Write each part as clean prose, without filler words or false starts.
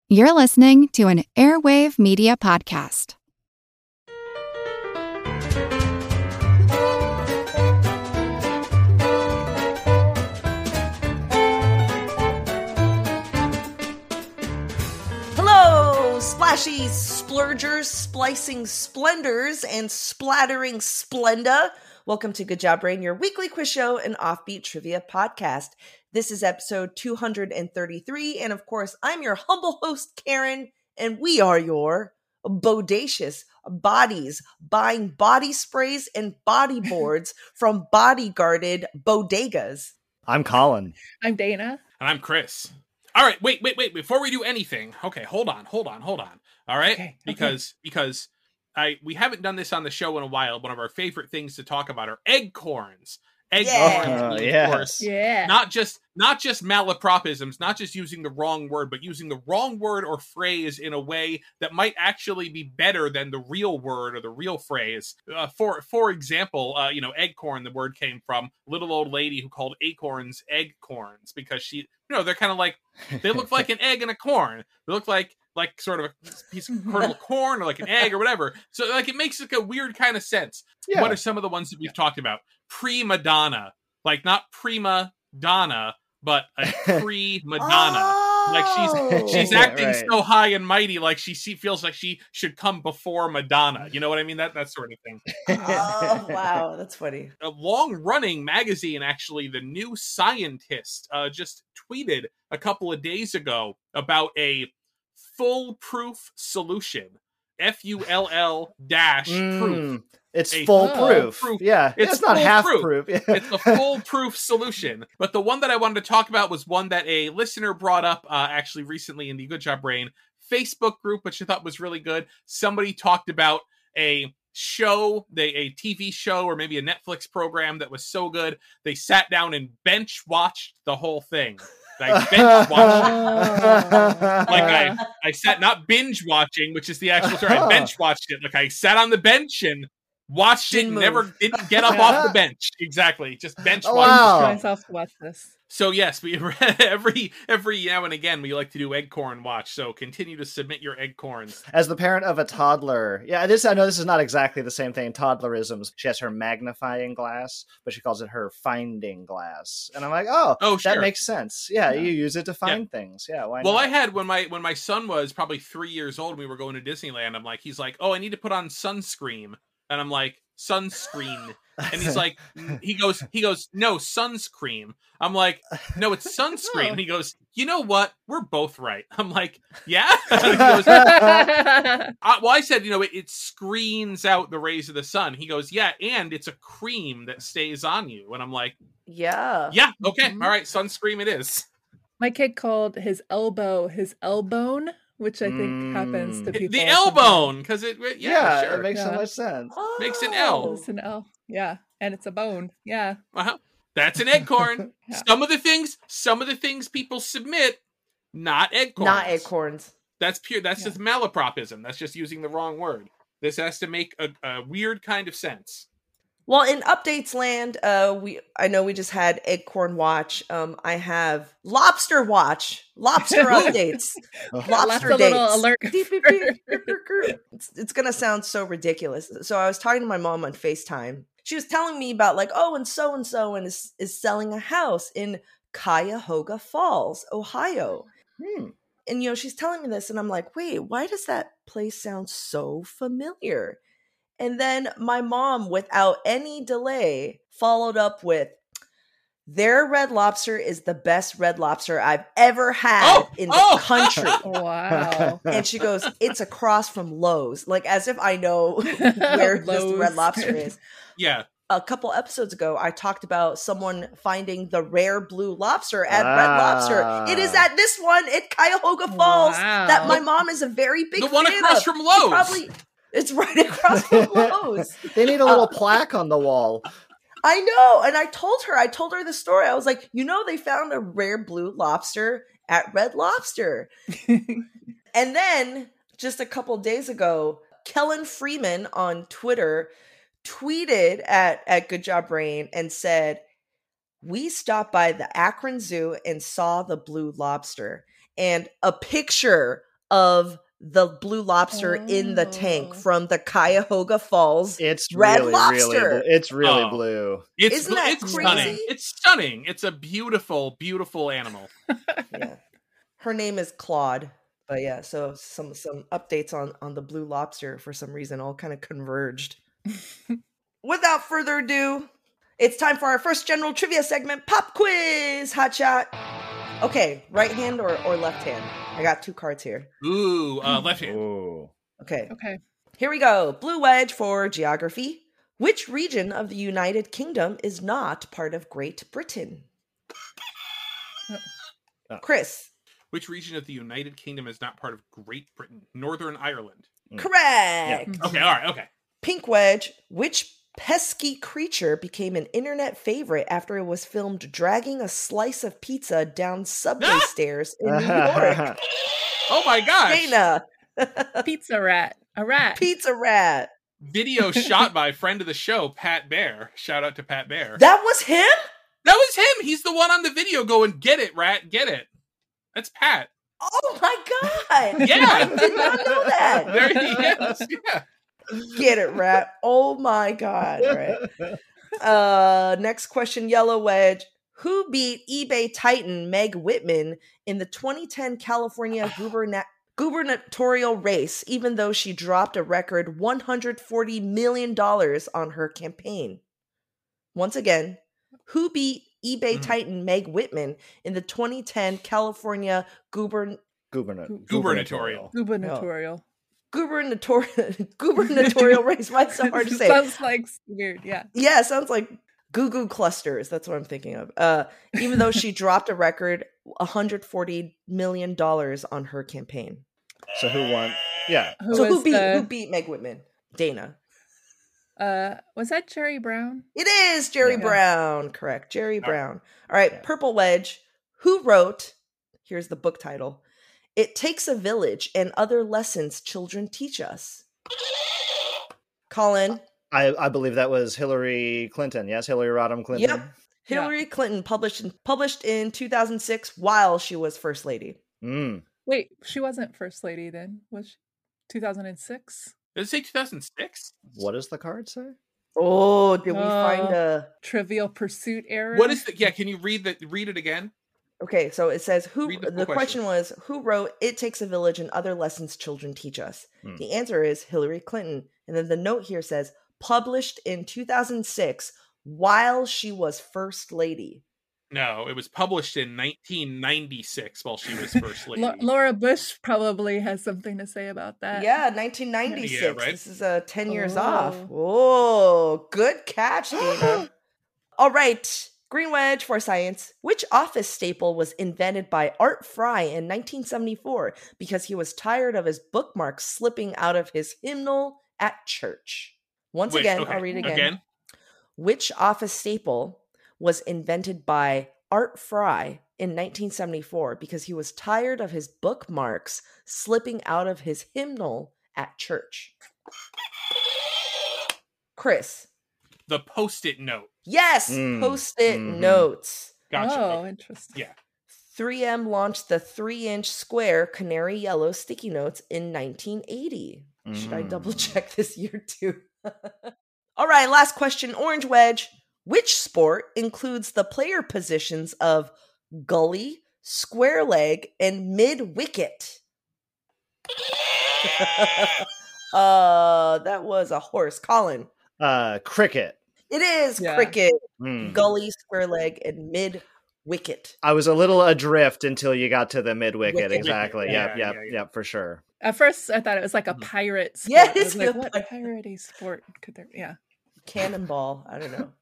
You're listening to an Airwave Media Podcast. Hello, splashy splurgers, splicing splendors, and splattering splenda. Welcome to Good Job Brain, your weekly quiz show and offbeat trivia podcast. This is episode 233, and of course, I'm your humble host, Karen, and we are your bodacious bodies buying body sprays and body boards from bodyguarded bodegas. I'm Colin. I'm Dana. And I'm Chris. All right, wait. Before we do anything, okay, hold on. All right? Okay. Because we haven't done this on the show in a while. One of our favorite things to talk about are eggcorns. Eggcorns, of course. Yeah. Not just malapropisms, not just using the wrong word, but using the wrong word or phrase in a way that might actually be better than the real word or the real phrase. For example, eggcorn, the word came from little old lady who called acorns eggcorns because they're kind of like, they look like an egg and a corn. They look like sort of a piece of kernel of corn or like an egg or whatever. So like it makes like a weird kind of sense. Yeah. What are some of the ones that we've talked about? Prima donna, like not prima donna, but a pre-Madonna. Like she's acting so high and mighty, like she feels like she should come before Madonna. You know what I mean? That sort of thing. Oh, wow. That's funny. A long-running magazine, actually, The New Scientist, just tweeted a couple of days ago about a foolproof solution. FULL dash proof. It's foolproof. Yeah, it's not half proof. It's a foolproof solution. But the one that I wanted to talk about was one that a listener brought up actually recently in the Good Job Brain Facebook group, which I thought was really good. Somebody talked about a show, a TV show or maybe a Netflix program that was so good, they sat down and bench watched the whole thing. I bench watched it. Like I sat, not binge watching, which is the actual term. I bench watched it. Like I sat on the bench and watched it, didn't get up off the bench. Exactly. Just bench watched. Wow. I myself to watch this. So yes, we every now and again we like to do eggcorn watch. So continue to submit your eggcorns. As the parent of a toddler, I know this is not exactly the same thing. Toddlerisms. She has her magnifying glass, but she calls it her finding glass. And I'm like, sure. That makes sense. Yeah, you use it to find things. Yeah, why not? Well, I had when my son was probably 3 years old and we were going to Disneyland. He's like, oh, I need to put on sunscreen, and I'm like, sunscreen. And he's like, he goes, no, sunscreen. I'm like, no, it's sunscreen. And he goes, you know what? We're both right. I'm like, yeah? He goes, I said, it screens out the rays of the sun. He goes, yeah, and it's a cream that stays on you. And I'm like, Yeah. yeah, okay, all right, sunscreen it is. My kid called his elbow his elbone, which I think happens to people. The elbone, because sure. It makes so much sense. Makes an L. It's an L. Yeah. And it's a bone. Yeah. Uh-huh. That's an eggcorn. Yeah. Some of the things people submit, not eggcorns. Not acorns. That's pure. That's just malapropism. That's just using the wrong word. This has to make a weird kind of sense. Well, in updates land, I know we just had Eggcorn Watch. I have Lobster Watch, Lobster updates, Lobster Left a dates. little alert. It's gonna sound so ridiculous. So I was talking to my mom on FaceTime. She was telling me about and so is selling a house in Cuyahoga Falls, Ohio. And she's telling me this, and I'm like, wait, why does that place sound so familiar? And then my mom, without any delay, followed up with, their Red Lobster is the best Red Lobster I've ever had in the country. Wow. And she goes, it's across from Lowe's. Like, as if I know where this Red Lobster is. Yeah. A couple episodes ago, I talked about someone finding the rare blue lobster at Red Lobster. It is at this one at Cuyahoga Falls that my mom is a very big fan of. The one across from Lowe's. It's right across from Lowe's. They need a little plaque on the wall. I know. And I told her the story. I was like, they found a rare blue lobster at Red Lobster. And then just a couple days ago, Kellen Freeman on Twitter tweeted at Good Job Brain and said, we stopped by the Akron Zoo and saw the blue lobster. And a picture of the blue lobster in the tank Oh. from the Cuyahoga Falls It's red really, lobster. it's really Oh. blue. Isn't that it's crazy? stunning. It's stunning. It's a beautiful, beautiful animal. Yeah. Her name is Claude. But yeah, so some updates on the blue lobster for some reason all kind of converged. Without further ado, it's time for our first general trivia segment, Pop Quiz Hotshot. Okay, right hand or left hand? I got 2 cards here. Ooh, left hand. Ooh. Okay, Okay. here we go. Blue wedge for geography. Which region of the United Kingdom is not part of Great Britain? Oh. Chris. Which region of the United Kingdom is not part of Great Britain? Northern Ireland. Correct. Okay, all right, okay. Pink wedge. Which pesky creature became an internet favorite after it was filmed dragging a slice of pizza down subway stairs in New York? Oh my gosh. Dana. Pizza rat. A rat. Pizza rat. Video shot by friend of the show, Pat Bear. Shout out to Pat Bear. That was him? That was him. He's the one on the video going, "Get it, rat, get it." That's Pat. Oh my god. Yeah. I did not know that. There he is. Yeah. Get it, rat. Oh my god. All right. Next question, yellow wedge. Who beat eBay titan Meg Whitman in the 2010 California gubernatorial race, even though she dropped a record $140 million on her campaign? Once again, who beat eBay titan Meg Whitman in the 2010 California Gubernatorial. Gubernatorial. gubernatorial race? Why it's so hard to say? Sounds like weird, yeah. Yeah, it sounds like goo clusters. That's what I'm thinking of. Even though she dropped a record $140 million on her campaign. So who won? Yeah. Who beat Meg Whitman? Dana. Was that Jerry Brown? It is Jerry Yeah. Brown. Correct. Jerry Brown. All right. Purple wedge. Who wrote, here's the book title, It Takes a Village and Other Lessons Children Teach Us? Colin. I believe that was Hillary Clinton. Yes, Hillary Rodham Clinton. Yep. Hillary Clinton published in 2006 while she was First Lady. Mm. Wait, she wasn't First Lady then, was she? 2006? Does it say 2006? What does the card say? Oh, did we find a Trivial Pursuit era? What is the? Yeah, can you read it again? Okay, so it says Read the full the question was who wrote It Takes a Village and Other Lessons Children Teach Us? The answer is Hillary Clinton. And then the note here says published in 2006 while she was First Lady. No, it was published in 1996 while she was First Lady. Laura Bush probably has something to say about that. Yeah, 1996. Yeah, right? This is 10 years off. Oh, good catch, Dana. All right. Green wedge for science. Which office staple was invented by Art Fry in 1974 because he was tired of his bookmarks slipping out of his hymnal at church? Once again, I'll read again. Which office staple was invented by Art Fry in 1974 because he was tired of his bookmarks slipping out of his hymnal at church? Chris. The Post-it note. Yes, Post-it notes. Gotcha. Oh, Okay. interesting. Yeah. 3M launched the 3-inch square canary yellow sticky notes in 1980. Should I double check this year too? All right, last question, orange wedge. Which sport includes the player positions of gully, square leg, and mid-wicket? That was a horse. Colin. Cricket. It is Yeah. cricket, gully, square leg, and mid-wicket. I was a little adrift until you got to the mid-wicket. Wicket. Exactly. Yeah, Yep, yeah. for sure. At first, I thought it was like a pirate sport. Yeah, I was it's like, a what pirate-y sport could there be? Yeah. Cannonball. I don't know.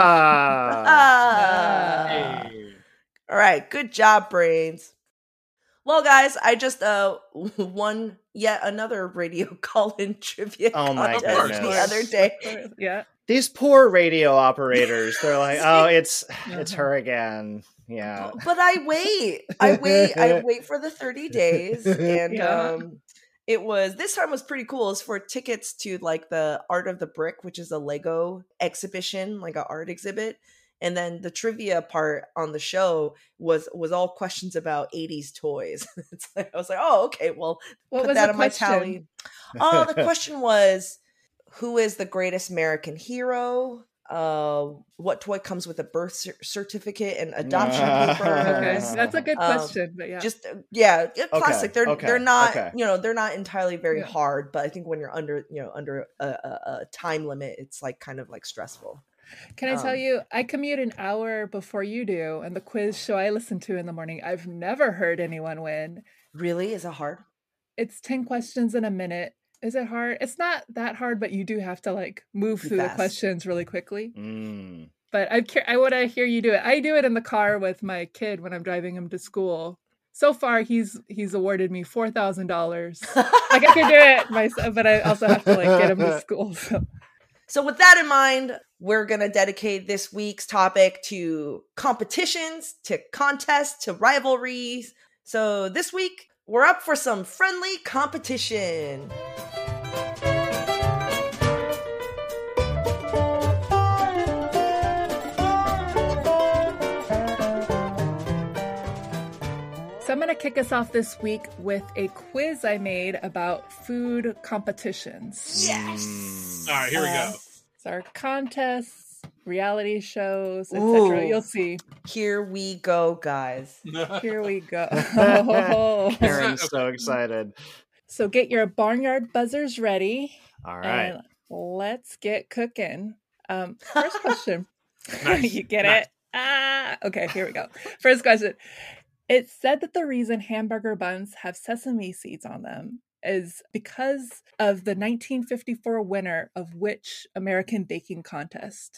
Ah. Hey. All right. Good job, brains. Well, guys, I just won yet another radio call-in trivia Oh my contest goodness. the other day. Yeah. These poor radio operators. They're like, oh, it's her again. Yeah. But I wait for the 30 days. And Yeah. it was, this time was pretty cool. It's for tickets to like the Art of the Brick, which is a Lego exhibition, like an art exhibit. And then the trivia part on the show was all questions about 80s toys. It's like, I was like, oh, okay, well, What put was that the on my question? tally. Oh, the question was, who is the greatest American hero? What toy comes with a birth certificate and adoption paper? Okay, that's a good question, but yeah. Just classic. They're not they're not entirely very Yeah. hard, but I think when you're under a time limit, it's like kind of like stressful. Can I tell you, I commute an hour before you do, and the quiz show I listen to in the morning, I've never heard anyone win. Really? Is it hard? It's 10 questions in a minute. Is it hard? It's not that hard, but you do have to like move Be through fast. the questions really quickly. Mm. But I want to hear you do it. I do it in the car with my kid when I'm driving him to school. So far, he's awarded me $4,000. Like I can do it myself, but I also have to like get him to school. So with that in mind, we're going to dedicate this week's topic to competitions, to contests, to rivalries. So this week, we're up for some friendly competition. So I'm going to kick us off this week with a quiz I made about food competitions. Yes. All right, here we go. So our contests, reality shows, Ooh. etc. You'll see. Here we go, guys. Here we go. Karen's so excited. So get your barnyard buzzers ready. All right. And let's get cooking. First question. Nice. You get Nice. it? Okay, here we go. First question. It's said that the reason hamburger buns have sesame seeds on them is because of the 1954 winner of which American baking contest?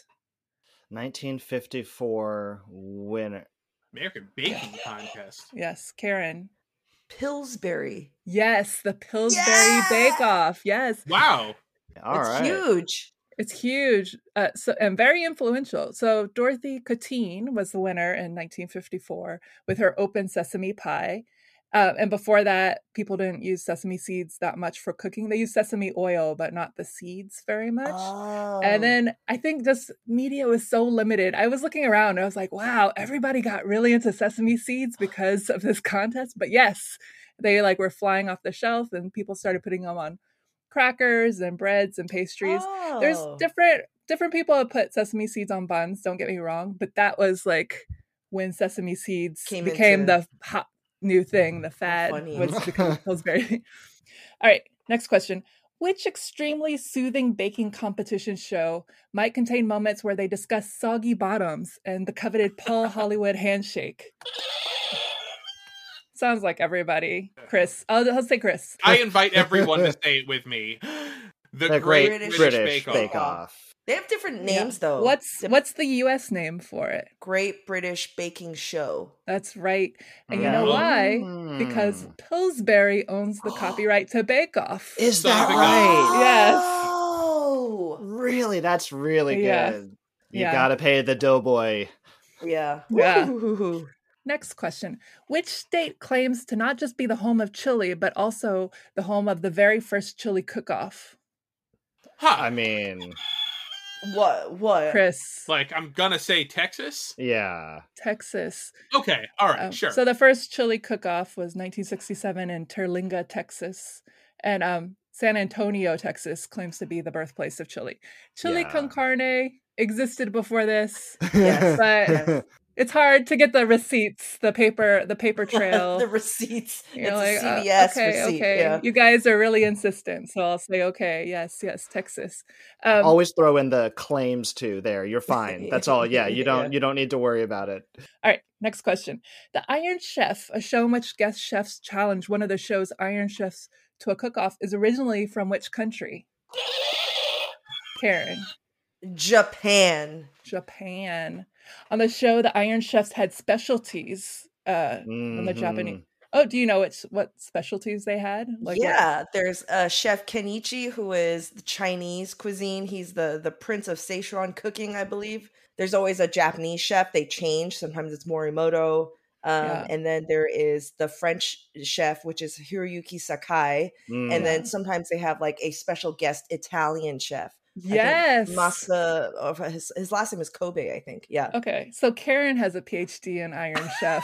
1954 winner. American Baking Contest. Yes, Karen. Pillsbury. Yes, the Pillsbury Yeah! Bake Off. Yes, Wow. All It's right. huge. it's huge. And very influential. So Dorothy Coutine was the winner in 1954 with her open sesame pie. And before that, people didn't use sesame seeds that much for cooking. They used sesame oil, but not the seeds very much. Oh. And then I think this media was so limited. I was looking around and I was like, wow, everybody got really into sesame seeds because of this contest. But yes, they like were flying off the shelf and people started putting them on crackers and breads and pastries. There's Oh. different people have put sesame seeds on buns, don't get me wrong, but that was like when sesame seeds became the hot new thing, the fad funny. was becoming Pillsbury. All right, next question. Which extremely soothing baking competition show might contain moments where they discuss soggy bottoms and the coveted Paul Hollywood handshake? Sounds like everybody. Chris. I'll say Chris. I invite everyone to say it with me. The Great British British Bake-Off. Bake Off. They have different names though. What's the US name for it? Great British Baking Show? That's right. And you know why? Because Pillsbury owns the copyright to Bake Off. Is So that there we go. right? Yes. Oh. Really? That's really Yeah. good. You Yeah. gotta pay the doughboy. Yeah. Yeah. Woo. Next question. Which state claims to not just be the home of chili, but also the home of the very first chili cook-off? I mean, What? Chris. Like, I'm gonna say Texas. yeah. Texas. Okay, all right, sure. So the first chili cook-off was 1967 in Terlinga, Texas. And San Antonio, Texas claims to be the birthplace of chili. Chili Yeah. con carne existed before this, Yes. but it's hard to get the receipts, the paper trail. The receipts. You're It's like, a CVS okay, receipt. okay. Yeah. You guys are really insistent, so I'll say okay. Yes, Texas. Always throw in the claims too there. You're fine. That's all. Yeah, you don't need to worry about it. All right, next question. The Iron Chef, a show in which guest chefs challenge one of the show's Iron Chefs to a cook-off, is originally from which country? Karen. Japan. On the show, the Iron Chefs had specialties from the Japanese. Oh, do you know what specialties they had? There's Chef Kenichi, who is the Chinese cuisine. He's the prince of Szechuan cooking, I believe. There's always a Japanese chef. They change. Sometimes it's Morimoto. And then there is the French chef, which is Hiroyuki Sakai. And then sometimes they have like a special guest Italian chef, Yes. Masa, his last name is Kobe, I think. Yeah. Okay. So Karen has a PhD in Iron Chef.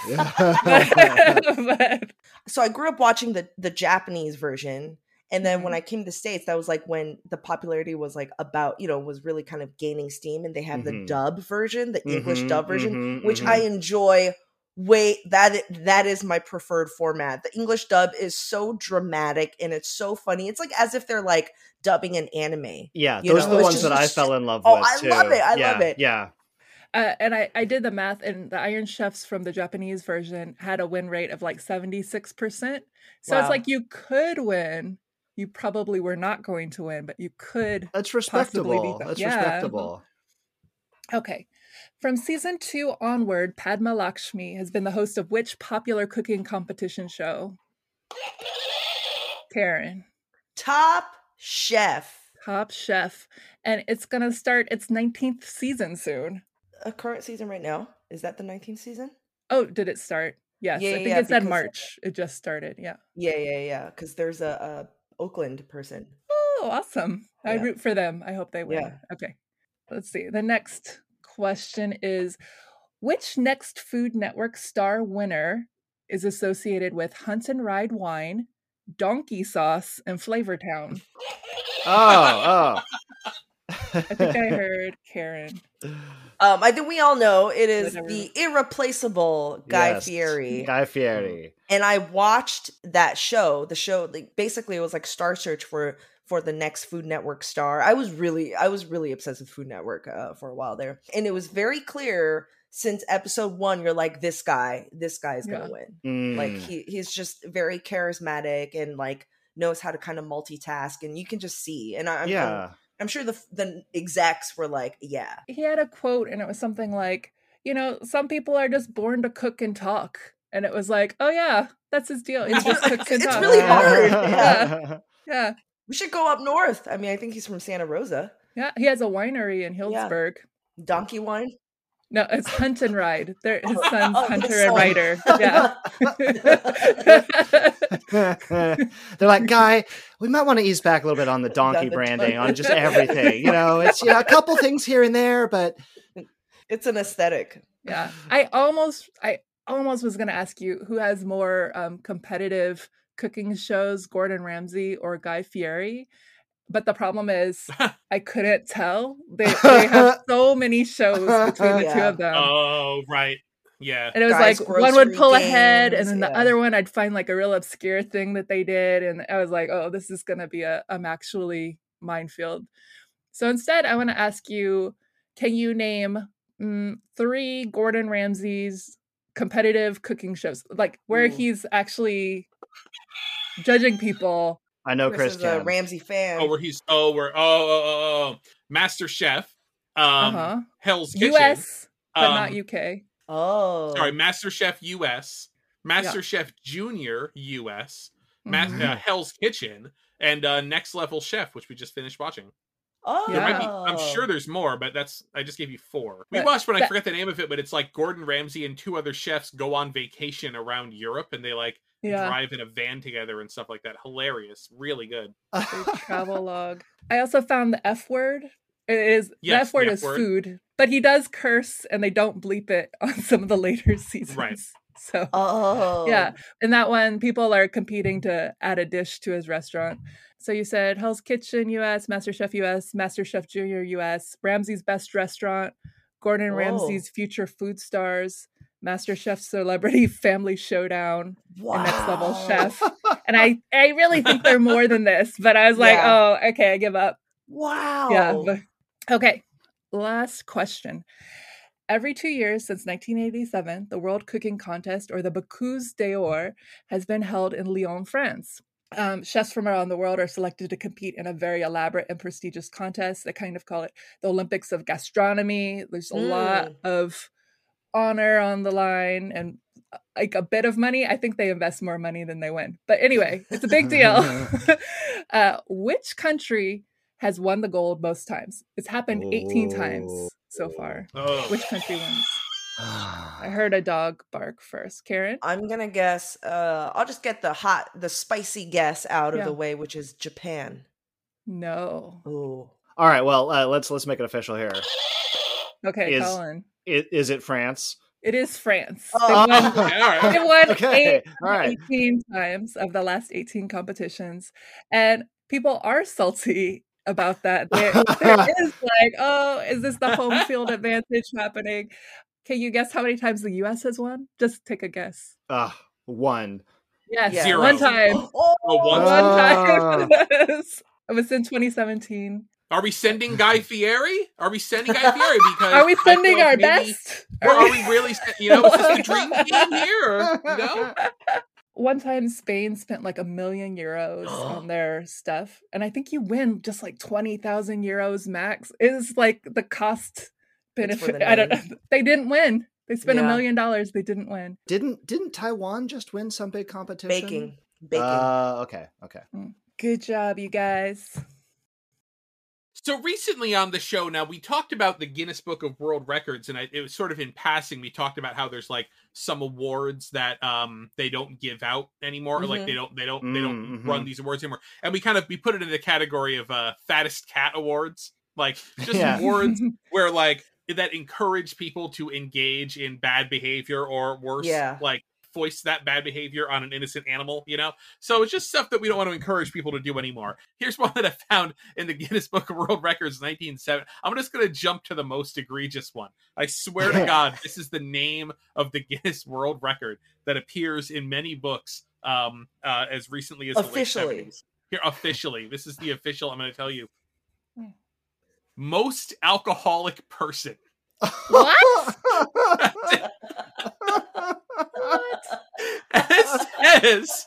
But So I grew up watching the Japanese version. And then when I came to the States, that was like when the popularity was like about, was really kind of gaining steam. And they have the dub version, the English dub version, which I enjoy. That is my preferred format. The English dub is so dramatic and it's so funny. It's like as if they're like dubbing an anime. Yeah, those are the ones that I fell in love with. I love it. I love it. Yeah. And I did the math, and the Iron Chefs from the Japanese version had a win rate of like 76%. So it's like you could win. You probably were not going to win, but you could. That's respectable. Respectable. Okay. From season 2 onward, Padma Lakshmi has been the host of which popular cooking competition show? Karen. Top Chef. Top Chef. And it's going to start its 19th season soon. A current season right now. Is that the 19th season? Oh, did it start? Yes. I think it said March. It just started. Yeah. Yeah. Because there's a Oakland person. Oh, awesome. I root for them. I hope they win. Yeah. Okay. Let's see. The next question is, which Next Food Network star winner is associated with Hunt and Ride Wine, Donkey Sauce, and Flavortown? Oh. I think I heard Karen. I think we all know it is the irreplaceable Guy Fieri. Guy Fieri. And I watched that show. The show, like, basically, it was like Star Search for the next Food Network star. I was really obsessed with Food Network for a while there, and it was very clear since episode 1. You're like, this guy is gonna win. Like he's just very charismatic and like knows how to kind of multitask, and you can just see. And I'm sure the execs were like, yeah. He had a quote, and it was something like, some people are just born to cook and talk. And it was like, oh yeah, that's his deal. He just cooks and talks. It's really hard. Yeah. We should go up north. I mean, I think he's from Santa Rosa. Yeah, he has a winery in Healdsburg. Yeah. Donkey wine? No, it's Hunt and Ride. His son's Hunter and Ryder. Yeah. They're like, Guy, we might want to ease back a little bit on the donkey branding, on just everything. It's a couple things here and there, but it's an aesthetic. Yeah. I almost was going to ask you who has more competitive cooking shows, Gordon Ramsay or Guy Fieri. But the problem is, I couldn't tell. They have so many shows between the two of them. Oh, right. Yeah. And it was like one would pull ahead, and then the other one I'd find like a real obscure thing that they did. And I was like, oh, this is going to be a actually minefield. So instead, I want to ask you, can you name 3 Gordon Ramsay's competitive cooking shows? Like where he's actually judging people. I know Chris is a Ramsay fan. Oh, where he's Master Chef, Hell's Kitchen, US, but not UK. Oh, sorry, Master Chef US, Master Chef Junior US, Hell's Kitchen, and Next Level Chef, which we just finished watching. Oh, there might be, I'm sure there's more, but I just gave you 4. We watched one, I forget the name of it, but it's like Gordon Ramsay and 2 other chefs go on vacation around Europe, and they like drive in a van together and stuff like that. Hilarious. Really good. Travel log. I also found the F word. The F word is food, but he does curse and they don't bleep it on some of the later seasons. Right. So, yeah. In that one, people are competing to add a dish to his restaurant. So you said Hell's Kitchen US, MasterChef US, MasterChef Junior US, Ramsay's Best Restaurant, Gordon Ramsay's Future Food Stars, MasterChef Celebrity Family Showdown, and Next Level Chef. And I really think they're more than this, but I was like, oh, okay, I give up. Wow. Yeah. Okay. Last question. Every 2 years since 1987, the World Cooking Contest, or the Bocuse d'Or, has been held in Lyon, France. Chefs from around the world are selected to compete in a very elaborate and prestigious contest. They kind of call it the Olympics of gastronomy. There's a lot of honor on the line and like a bit of money. I think they invest more money than they win. But anyway, it's a big deal. Which country has won the gold most times? It's happened 18 times so far. Which country wins? I heard a dog bark first. Karen? I'm going to guess, I'll just get the spicy guess out of the way, which is Japan. No. Oh. All right, well, let's make it official here. Okay, Colin. Is it France? It is France. Oh. They won Okay, 8 all right. 18 times of the last 18 competitions. And people are salty about that. There is like, oh, is this the home field advantage happening? Can you guess how many times the U.S. has won? Just take a guess. 1. Yes, Yeah. 0. 1 time. One One time. It was in 2017. Are we sending Guy Fieri? Because Are we sending our maybe, best? Or are we really? Is this the dream team here? One time Spain spent like €1 million on their stuff, and I think you win just like 20,000 euros max. Is like the cost benefit. I don't know. They didn't win. They spent $1 million. They didn't win. Didn't Taiwan just win some big competition? Baking. Okay. Good job, you guys. So recently on the show, now we talked about the Guinness Book of World Records, and it was sort of in passing. We talked about how there's like some awards that they don't give out anymore, or like they don't run these awards anymore. And we put it in the category of fattest cat awards, like just awards where like that encourage people to engage in bad behavior or worse, like foist that bad behavior on an innocent animal, So it's just stuff that we don't want to encourage people to do anymore. Here's one that I found in the Guinness Book of World Records, 1970. I'm just going to jump to the most egregious one. I swear to God, this is the name of the Guinness World Record that appears in many books as recently as officially. The late 70s. Here, officially. This is the official, I'm going to tell you. Most alcoholic person. What? It says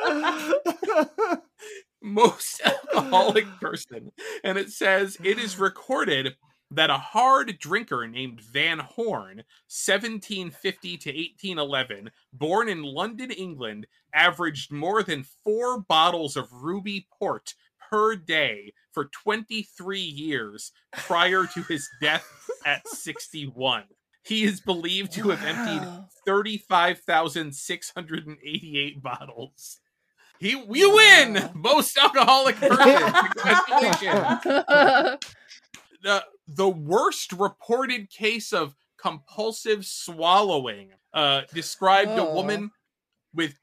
most alcoholic person, and it says it is recorded that a hard drinker named Van Horn, 1750 to 1811, born in London, England, averaged more than 4 bottles of ruby port per day for 23 years prior to his death at 61. He is believed to have emptied 35,688 bottles. You win! Most alcoholic person. Congratulations. The worst reported case of compulsive swallowing described a woman with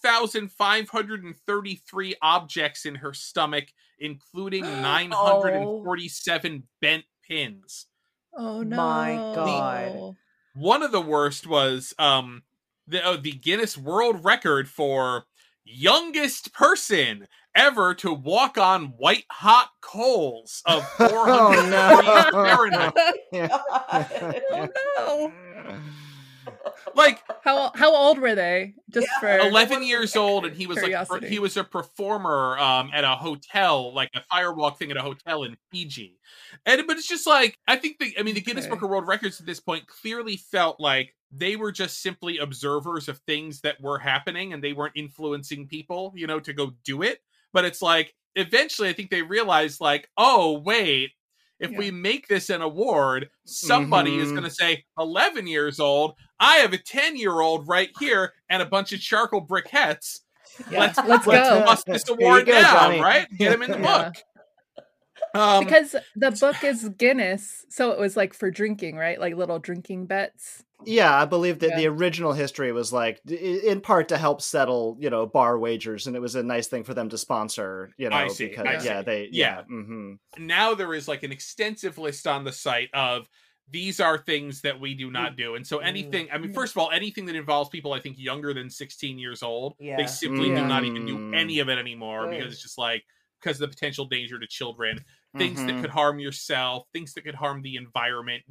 2,533 objects in her stomach, including 947 bent pins. Oh no! My God! One of the worst was the Guinness World Record for youngest person ever to walk on white hot coals of 400 Fahrenheit. Oh no! Like how old were they? Just for 11 years old, and he was curiosity. like he was a performer at a hotel, like a firewalk thing at a hotel in Fiji. But it's just like I think the Guinness Book of World Records at this point clearly felt like they were just simply observers of things that were happening, and they weren't influencing people, to go do it. But it's like eventually, I think they realized, like, oh wait. If we make this an award, somebody is going to say, 11 years old, I have a 10-year-old right here and a bunch of charcoal briquettes. Yeah. Let's go. Bust this award down, Johnny. right? Get him in the book. Because the book is Guinness, so it was like for drinking, right? Like little drinking bets. Yeah, I believe that the original history was like in part to help settle, bar wagers, and it was a nice thing for them to sponsor, I see. because Now there is like an extensive list on the site of these are things that we do not do. And so anything, first of all, anything that involves people, I think, younger than 16 years old, they simply do not even do any of it anymore because it's just like, because of the potential danger to children, things that could harm yourself, things that could harm the environment,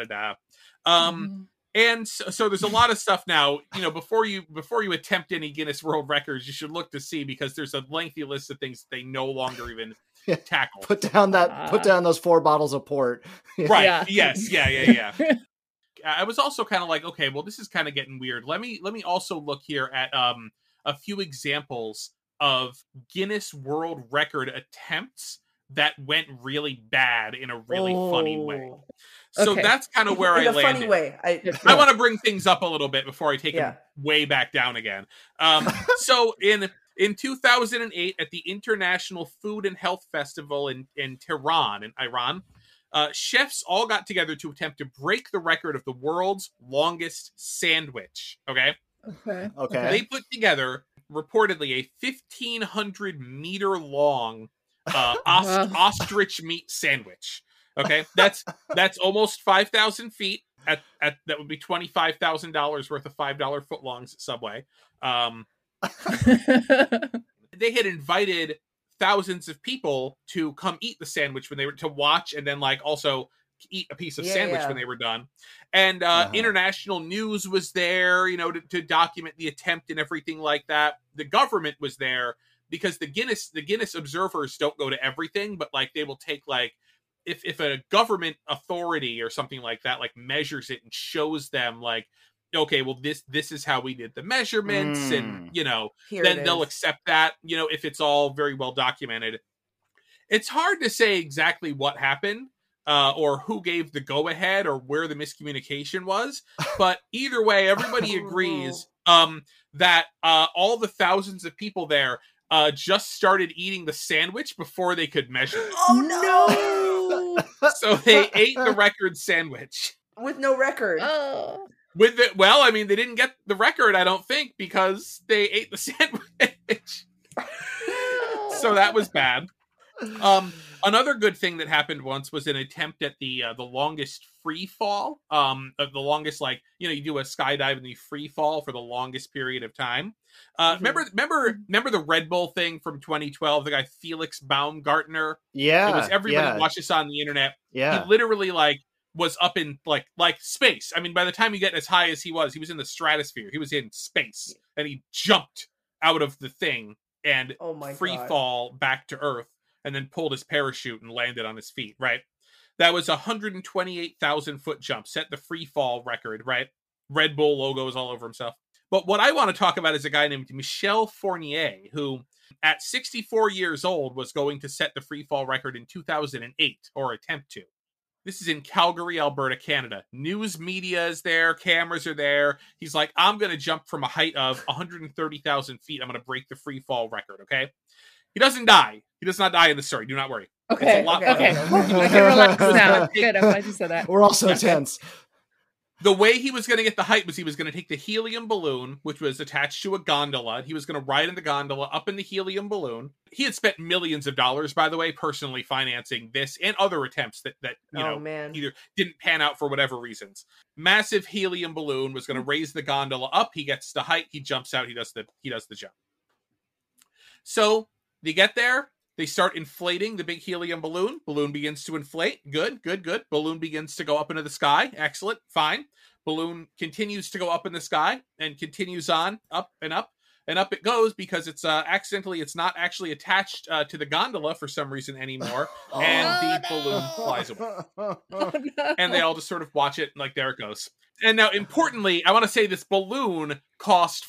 And so there's a lot of stuff now, before you attempt any Guinness World Records, you should look to see, because there's a lengthy list of things that they no longer even tackle. Put down those 4 bottles of port. Right. Yeah. Yes. Yeah. I was also kind of like, okay, well, this is kind of getting weird. Let me also look here at a few examples of Guinness World Record attempts that went really bad in a really funny way. So that's kind of where I landed. In a funny way. I want to bring things up a little bit before I take them way back down again. So in In 2008, at the International Food and Health Festival in Tehran, in Iran, chefs all got together to attempt to break the record of the world's longest sandwich. Okay. They put together, reportedly, a 1,500 meter long ostrich meat sandwich. Okay, that's almost 5,000 feet. At that would be $25,000 worth of $5 footlongs at Subway. They had invited thousands of people to come eat the sandwich when they were to watch, and then like also eat a piece of sandwich when they were done. And international news was there, you know, to document the attempt and everything like that. The government was there because the Guinness observers don't go to everything, but like they will take like if a government authority or something like that like measures it and shows them like, okay, well this is how we did the measurements, and you know, then they'll accept that, you know, if it's all very well documented. It's hard to say exactly what happened or who gave the go ahead or where the miscommunication was, but either way, everybody agrees that all the thousands of people there just started eating the sandwich before they could measure it. Oh no! So they ate the record sandwich with no record. With it, well, I mean, they didn't get the record, I don't think, because they ate the sandwich. So that was bad. Another good thing that happened once was an attempt at the longest free fall. The longest, like, you know, you do a skydive and you free fall for the longest period of time. Remember the Red Bull thing from 2012? The guy Felix Baumgartner. Yeah, it was everybody watched this on the internet. Yeah, he literally like was up in like space. I mean, by the time you get as high as he was in the stratosphere. He was in space, and he jumped out of the thing and free fall back to Earth, and then pulled his parachute and landed on his feet. Right, that was 128,000 foot jump, set the free fall record. Right, Red Bull logos all over himself. But what I want to talk about is a guy named Michel Fournier, who at 64 years old was going to set the free fall record in 2008, or attempt to. This is in Calgary, Alberta, Canada. News media is there. Cameras are there. He's like, I'm going to jump from a height of 130,000 feet. I'm going to break the free fall record, okay? He doesn't die. He does not die in the story. Do not worry. Okay, it's a lot okay. I can relax now. Good, I'm glad you said that. We're all so tense. The way he was going to get the height was he was going to take the helium balloon, which was attached to a gondola. He was going to ride in the gondola up in the helium balloon. He had spent millions of dollars, by the way, personally financing this and other attempts that either didn't pan out for whatever reasons. Massive helium balloon was going to raise the gondola up. He gets the height. He jumps out. He does the jump. So they get there. They start inflating the big helium balloon. Balloon begins to inflate. Good. Balloon begins to go up into the sky. Excellent. Fine. Balloon continues to go up in the sky and continues on up and up and up it goes because it's it's not actually attached to the gondola for some reason anymore. And the balloon flies away. And they all just sort of watch it like, there it goes. And now, importantly, I want to say this balloon cost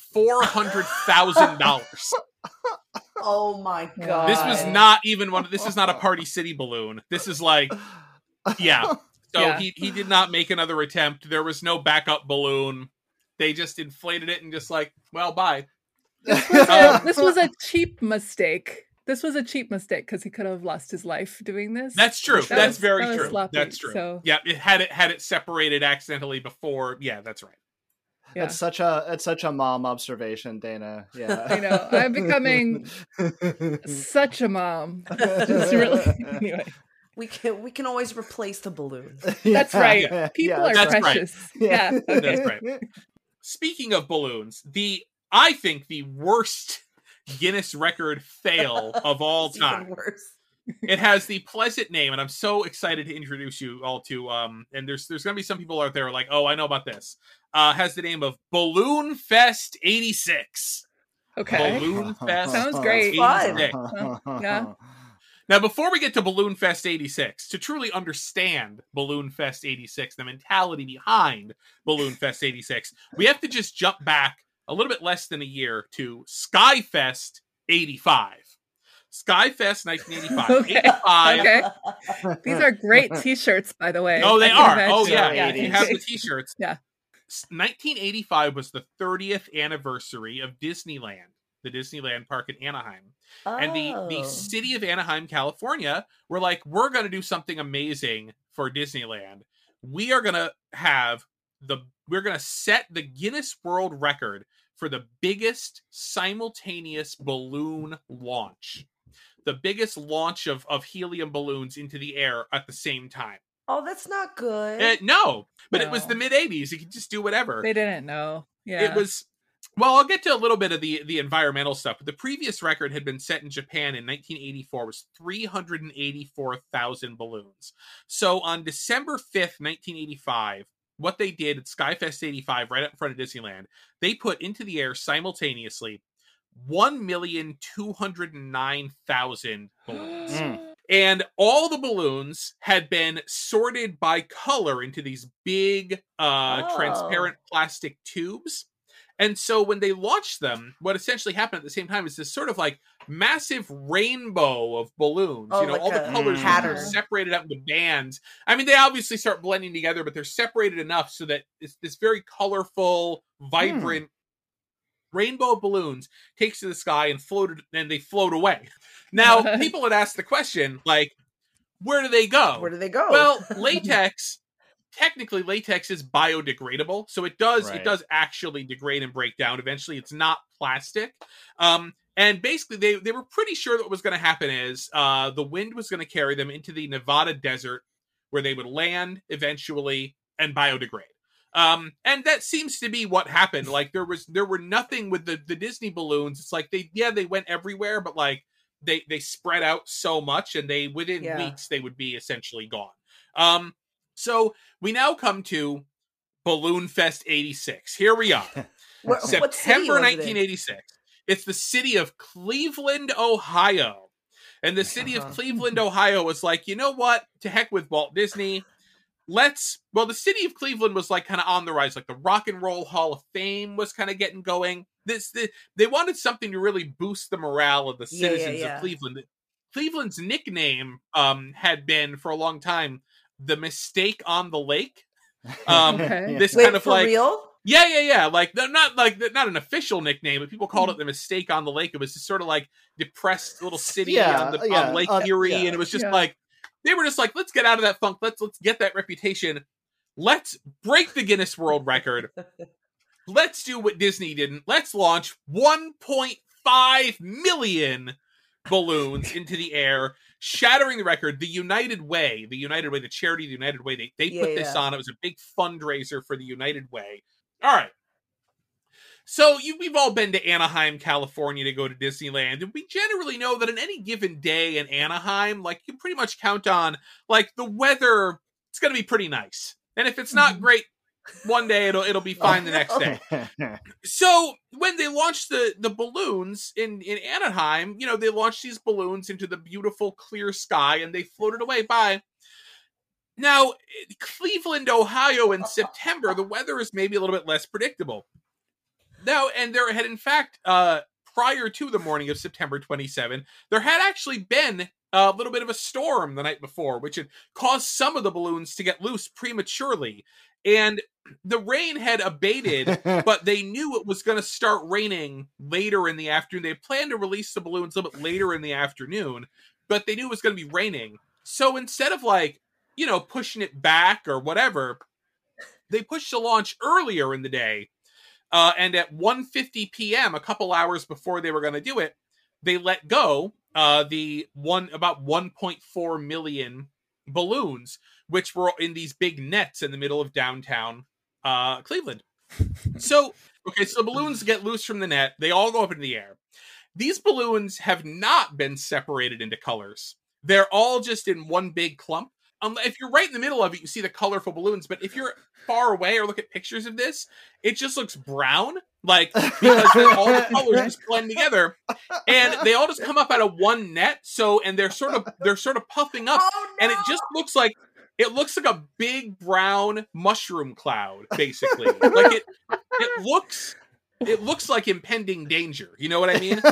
$400,000. Oh my god! This was not even one. This is not a Party City balloon. This is like, yeah. So he did not make another attempt. There was no backup balloon. They just inflated it and just like, well, bye. This was a cheap mistake. This was a cheap mistake because he could have lost his life doing this. That's true. That's very true. Sloppy, that's true. So. Yeah, it had it separated accidentally before. Yeah, that's right. Yeah. It's such a mom observation, Dana. Yeah, I know. I'm becoming such a mom. Just really, anyway. We can always replace the balloon. That's right. People are precious. Right. Yeah. That's right. Speaking of balloons, I think the worst Guinness record fail of all time. Even worse. It has the pleasant name, and I'm so excited to introduce you all to. And there's going to be some people out there like, oh, I know about this. Has the name of Balloon Fest 86. Okay, Balloon Fest sounds great. 86. Yeah. Now, before we get to Balloon Fest 86, to truly understand Balloon Fest 86, the mentality behind Balloon Fest 86, we have to just jump back a little bit less than a year to Skyfest 85. Skyfest 1985. Okay. 85. Okay. These are great T-shirts, by the way. Oh, they are. Imagine. Oh, yeah. You have the T-shirts. Yeah. 1985 was the 30th anniversary of Disneyland. the Disneyland park in Anaheim. Oh. And the city of Anaheim, California, were like, we're going to do something amazing for Disneyland. We are going to we're going to set the Guinness World Record for the biggest simultaneous balloon launch. The biggest launch of helium balloons into the air at the same time. Oh, that's not good. No, but it was the mid-'80s. You could just do whatever. They didn't know. Yeah. It was... Well, I'll get to a little bit of the environmental stuff, but the previous record had been set in Japan in 1984, was 384,000 balloons. So on December 5th, 1985, what they did at Skyfest 85, right up in front of Disneyland, they put into the air simultaneously 1,209,000 balloons. And all the balloons had been sorted by color into these big transparent plastic tubes. And so when they launched them, what essentially happened at the same time is this sort of like massive rainbow of balloons. Oh, you know, like all the colors are separated up into bands. I mean, they obviously start blending together, but they're separated enough so that it's this very colorful, vibrant rainbow of balloons takes to the sky and they float away. Now, people had asked the question, like, where do they go? Where do they go? Well, technically latex is biodegradable, so it does actually degrade and break down eventually. It's not plastic. And basically they were pretty sure that what was going to happen is the wind was going to carry them into the Nevada desert where they would land eventually and biodegrade. And that seems to be what happened. Like there were nothing with the Disney balloons. It's like they went everywhere, but like they spread out so much, and within weeks they would be essentially gone. So we now come to Balloon Fest 86. Here we are. September 1986. It's the city of Cleveland, Ohio. And the city of Cleveland, Ohio was like, you know what? To heck with Walt Disney. The city of Cleveland was like kind of on the rise. Like the Rock and Roll Hall of Fame was kind of getting going. They wanted something to really boost the morale of the citizens of Cleveland. Cleveland's nickname had been for a long time the Mistake on the Lake. This kind of like real? Yeah. Like not an official nickname, but people called it the Mistake on the Lake. It was just sort of like depressed little city on Lake Erie, and it was just like they were just like, let's get out of that funk. Let's get that reputation. Let's break the Guinness World Record. Let's do what Disney didn't. Let's launch 1.5 million balloons into the air, shattering the record. The United Way, the charity, the United Way, they put this on. It was a big fundraiser for the United Way. All right. So we've all been to Anaheim, California to go to Disneyland, and we generally know that on any given day in Anaheim, like you pretty much count on like the weather, it's going to be pretty nice. And if it's not great one day, it'll be fine the next day. So when they launched the balloons in Anaheim, you know, they launched these balloons into the beautiful clear sky and they floated away by. Now, Cleveland, Ohio in September, the weather is maybe a little bit less predictable. Now, and there had in fact, prior to the morning of September 27, there had actually been a little bit of a storm the night before, which had caused some of the balloons to get loose prematurely. And the rain had abated, but they knew it was going to start raining later in the afternoon. They planned to release the balloons a little bit later in the afternoon, but they knew it was going to be raining. So instead of like, you know, pushing it back or whatever, they pushed the launch earlier in the day. And at 1:50 p.m., a couple hours before they were going to do it, they let go about 1.4 million balloons, which were in these big nets in the middle of downtown Cleveland. So the balloons get loose from the net. They all go up into the air. These balloons have not been separated into colors. They're all just in one big clump. If you're right in the middle of it, you see the colorful balloons. But if you're far away or look at pictures of this, it just looks brown, like because all the colors just blend together, and they all just come up out of one net. And they're sort of puffing up, and it just looks like a big brown mushroom cloud, basically. Like it looks like impending danger. You know what I mean?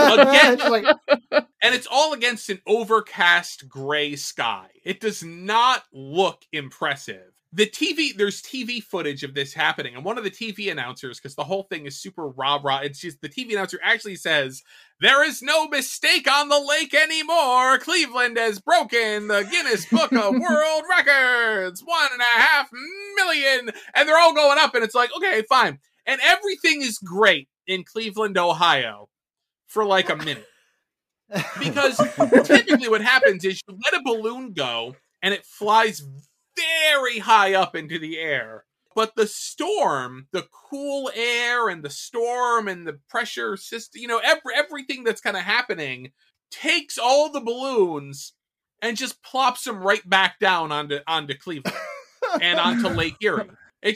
And it's all against an overcast gray sky. It does not look impressive. there's TV footage of this happening, and one of the TV announcers, because the whole thing is super rah-rah, it's just the TV announcer actually says, "There is no mistake on the lake anymore. Cleveland has broken the Guinness Book of World Records, 1.5 million," and they're all going up, and it's like, okay, fine. And everything is great in Cleveland, Ohio for like a minute. Because typically what happens is you let a balloon go, and it flies very high up into the air. But the storm, the cool air and the storm and the pressure system, everything that's kind of happening takes all the balloons and just plops them right back down onto Cleveland and onto Lake Erie. They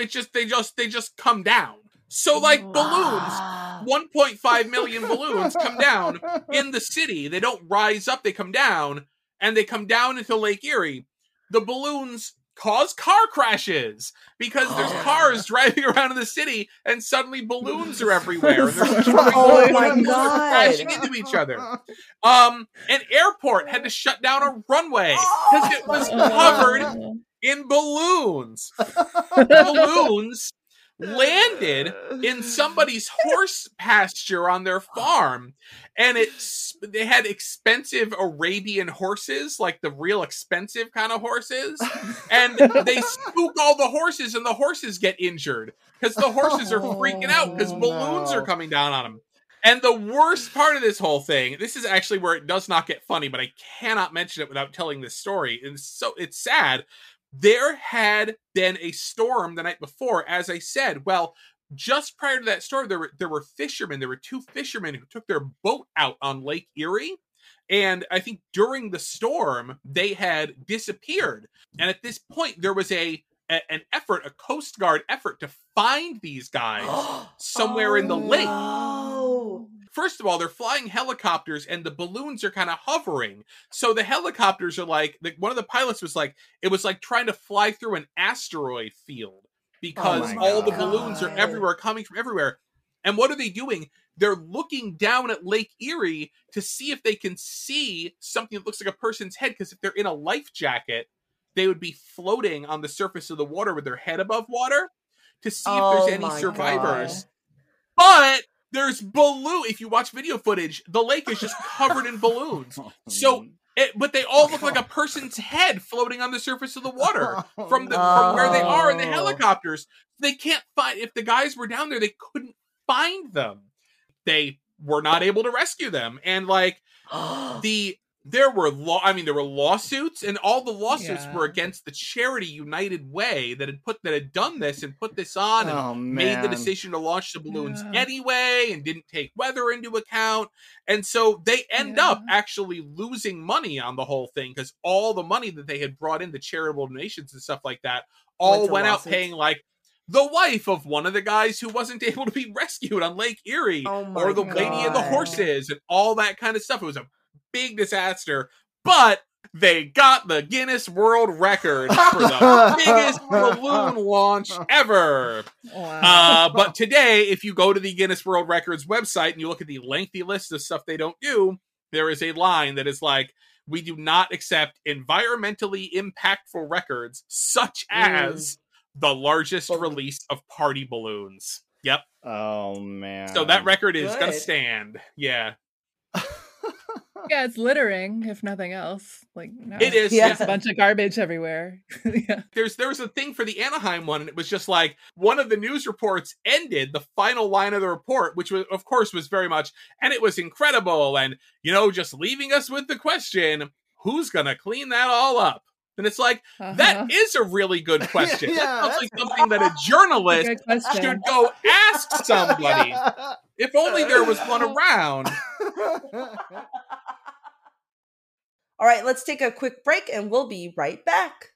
just come down. So like balloons, 1.5 million balloons come down in the city. They don't rise up, they come down, and they come down into Lake Erie. The balloons cause car crashes because there's cars driving around in the city and suddenly balloons are everywhere. And there's crashing into each other. An airport had to shut down a runway because it was covered in balloons. Balloons landed in somebody's horse pasture on their farm, and they had expensive Arabian horses, like the real expensive kind of horses, and they spook all the horses, and the horses get injured because the horses are freaking out because balloons are coming down on them. And the worst part of this whole thing, this is actually where it does not get funny, but I cannot mention it without telling this story, and it's sad. There had been a storm the night before, as I said. Well, just prior to that storm, there were fishermen. There were 2 fishermen who took their boat out on Lake Erie. And I think during the storm, they had disappeared. And at this point, there was an effort, a Coast Guard effort to find these guys somewhere in the lake. No. First of all, they're flying helicopters and the balloons are kind of hovering. So the helicopters are like one of the pilots was like, it was like trying to fly through an asteroid field because all the balloons are everywhere, coming from everywhere. And what are they doing? They're looking down at Lake Erie to see if they can see something that looks like a person's head. Because if they're in a life jacket, they would be floating on the surface of the water with their head above water to see if there's any survivors. But there's if you watch video footage, the lake is just covered in balloons. So, but they all look like a person's head floating on the surface of the water from where they are in the helicopters. They can't find, if the guys were down there, they couldn't find them. They were not able to rescue them. And like there were lawsuits, and all the lawsuits were against the charity United Way that had done this and put this on and made the decision to launch the balloons anyway and didn't take weather into account. And so they end up actually losing money on the whole thing because all the money that they had brought in, the charitable donations and stuff like that, all went out paying like the wife of one of the guys who wasn't able to be rescued on Lake Erie, or the lady and the horses and all that kind of stuff. It was a big disaster, but they got the Guinness World Record for the biggest balloon launch ever. Wow. But today, if you go to the Guinness World Records website and you look at the lengthy list of stuff they don't do, there is a line that is like, "We do not accept environmentally impactful records such as the largest release of party balloons." Yep. Oh, man. So that record is going to stand. Yeah. Yeah, it's littering, if nothing else. Like, no, it is. There's a bunch of garbage everywhere. There was a thing for the Anaheim one, and it was just like one of the news reports ended the final line of the report, which was, of course, was very much, and it was incredible, and just leaving us with the question, who's gonna clean that all up? And it's like, that is a really good question. That sounds like something that a journalist should go ask somebody. If only there was one around. All right, let's take a quick break and we'll be right back.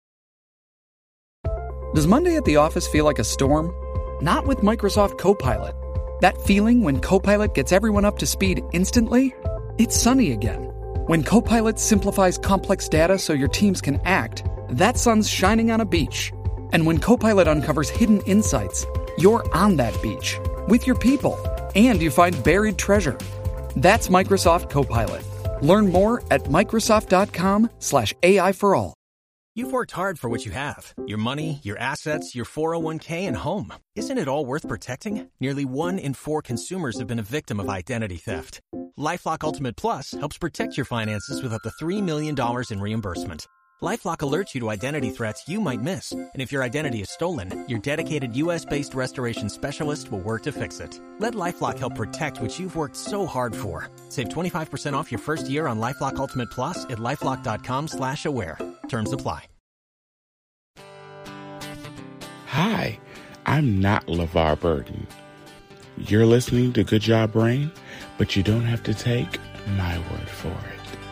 Does Monday at the office feel like a storm? Not with Microsoft Copilot. That feeling when Copilot gets everyone up to speed instantly? It's sunny again. When Copilot simplifies complex data so your teams can act, that sun's shining on a beach. And when Copilot uncovers hidden insights, you're on that beach with your people, and you find buried treasure. That's Microsoft Copilot. Learn more at Microsoft.com/AI for all. You've worked hard for what you have. Your money, your assets, your 401k, and home. Isn't it all worth protecting? Nearly 1 in 4 consumers have been a victim of identity theft. LifeLock Ultimate Plus helps protect your finances with up to $3 million in reimbursement. LifeLock alerts you to identity threats you might miss. And if your identity is stolen, your dedicated U.S.-based restoration specialist will work to fix it. Let LifeLock help protect what you've worked so hard for. Save 25% off your first year on LifeLock Ultimate Plus at LifeLock.com/aware. Terms apply. Hi, I'm not LeVar Burton. You're listening to Good Job Brain, but you don't have to take my word for it.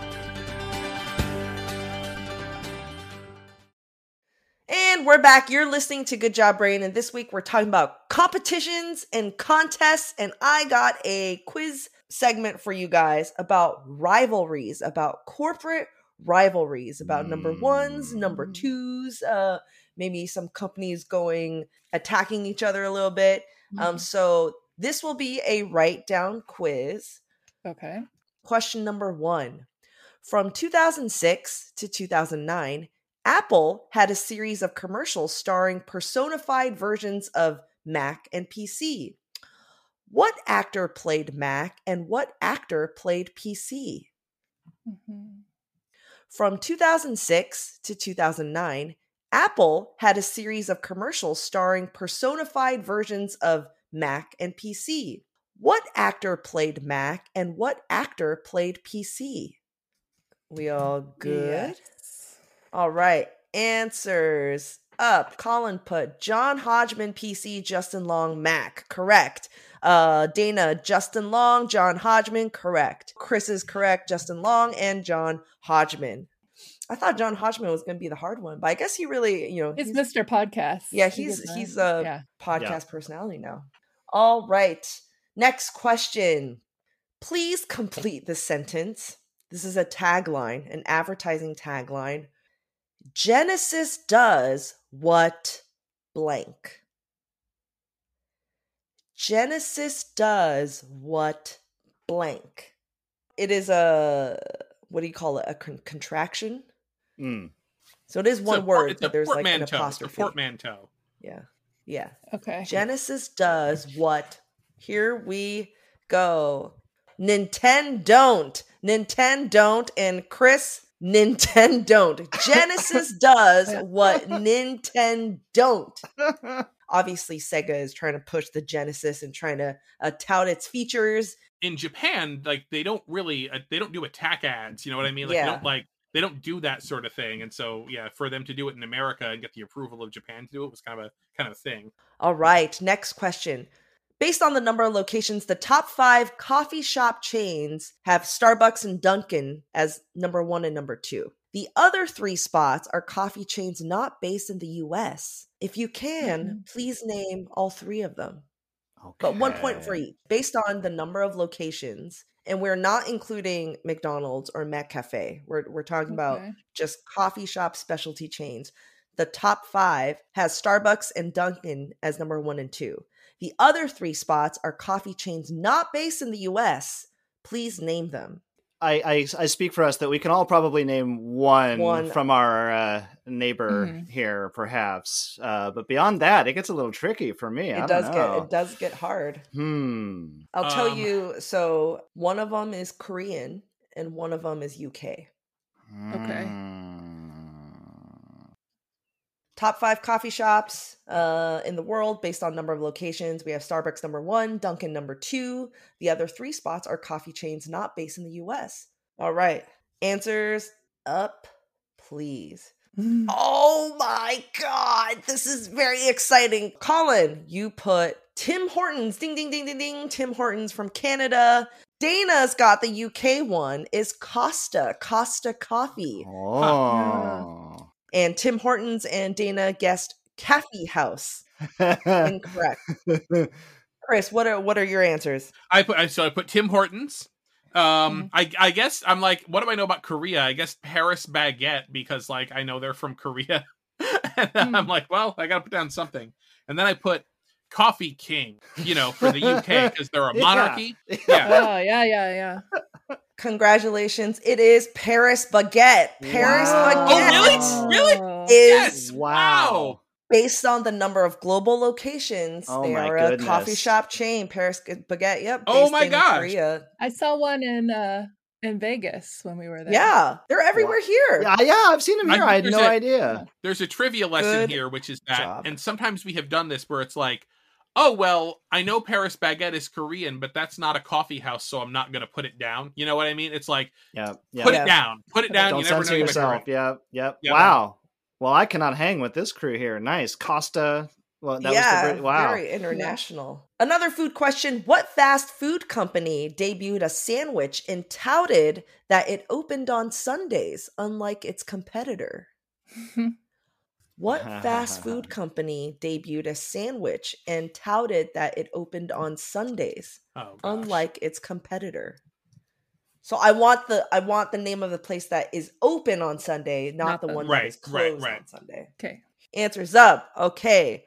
And we're back. You're listening to Good Job Brain, and this week we're talking about competitions and contests, and I got a quiz segment for you guys about rivalries, about corporate rivalries, about number ones, number twos, maybe some companies attacking each other a little bit. So this will be a write-down quiz. Okay. Question number 1. From 2006 to 2009, Apple had a series of commercials starring personified versions of Mac and PC. What actor played Mac and what actor played PC? From 2006 to 2009, Apple had a series of commercials starring personified versions of Mac and PC. What actor played Mac and what actor played PC? We all good? Yes. All right. Answers up. Colin put John Hodgman, PC, Justin Long, Mac. Correct. Dana, Justin Long, John Hodgman. Correct. Chris is correct. Justin Long and John Hodgman. I thought John Hodgman was going to be the hard one, but I guess he really, He's Mr. Podcast. Yeah, he's a podcast personality now. All right. Next question. Please complete the sentence. This is a tagline, an advertising tagline. Genesis does what blank? Genesis does what blank? It is what do you call it? A contraction? So it is one word, but there's like an apostrophe. It's a portmanteau. Yeah. Okay. Genesis does what? Here we go. Nintendo. And Chris, Nintendo. Genesis does what Nintendo. Obviously, Sega is trying to push the Genesis and trying to tout its features. In Japan, they don't do attack ads. You know what I mean? They don't do that sort of thing. And so, for them to do it in America and get the approval of Japan to do it was kind of a thing. All right. Next question. Based on the number of locations, the top 5 coffee shop chains have Starbucks and Dunkin' as number 1 and number 2. The other 3 spots are coffee chains not based in the U.S. If you can, please name all 3 of them. Okay. But 1 point for each. Based on the number of locations, and we're not including McDonald's or McCafe. We're talking about just coffee shop specialty chains. The top 5 has Starbucks and Dunkin' as number 1 and 2. The other 3 spots are coffee chains not based in the U.S. Please name them. I speak for us that we can all probably name one from our neighbor here, perhaps. But beyond that, it gets a little tricky for me. It does get hard. I'll tell you. So one of them is Korean and one of them is UK. Okay. Top 5 coffee shops in the world based on number of locations. We have Starbucks number 1, Dunkin' number 2. The other 3 spots are coffee chains not based in the U.S. All right. Answers up, please. Oh my God. This is very exciting. Colin, you put Tim Hortons. Ding, ding, ding, ding, ding. Tim Hortons from Canada. Dana's got the UK one. Is Costa Coffee. Oh. And Tim Hortons and Dana guessed Cafe House. Incorrect. Chris, what are your answers? I put Tim Hortons. I guess I'm like, what do I know about Korea? I guess Paris Baguette, because I know they're from Korea. And I'm like, well, I gotta put down something. And then I put Coffee King, for the UK because they're a monarchy. Yeah. Oh, yeah. Congratulations. It is Paris Baguette. Paris Baguette. Oh, really? is wow. Based on the number of global locations. They are a coffee shop chain. Paris Baguette. Yep. Oh my gosh. Korea. I saw one in Vegas when we were there. Yeah, they're everywhere here. Yeah, I've seen them here. I had no idea. There's a trivia lesson here, which is that, and sometimes we have done this where it's like, oh, well, I know Paris Baguette is Korean, but that's not a coffee house, so I'm not going to put it down. You know what I mean? It's like, put it down. Put it down. Don't you never censor know yourself. Yep. Wow. Well, I cannot hang with this crew here. Nice. Costa. Well, that was wow. Very international. Yeah. Another food question. What fast food company debuted a sandwich and touted that it opened on Sundays, unlike its competitor? What fast food company debuted a sandwich and touted that it opened on Sundays, unlike its competitor? So I want the name of the place that is open on Sunday, not the one that is closed on Sunday. Okay. Answers up. Okay.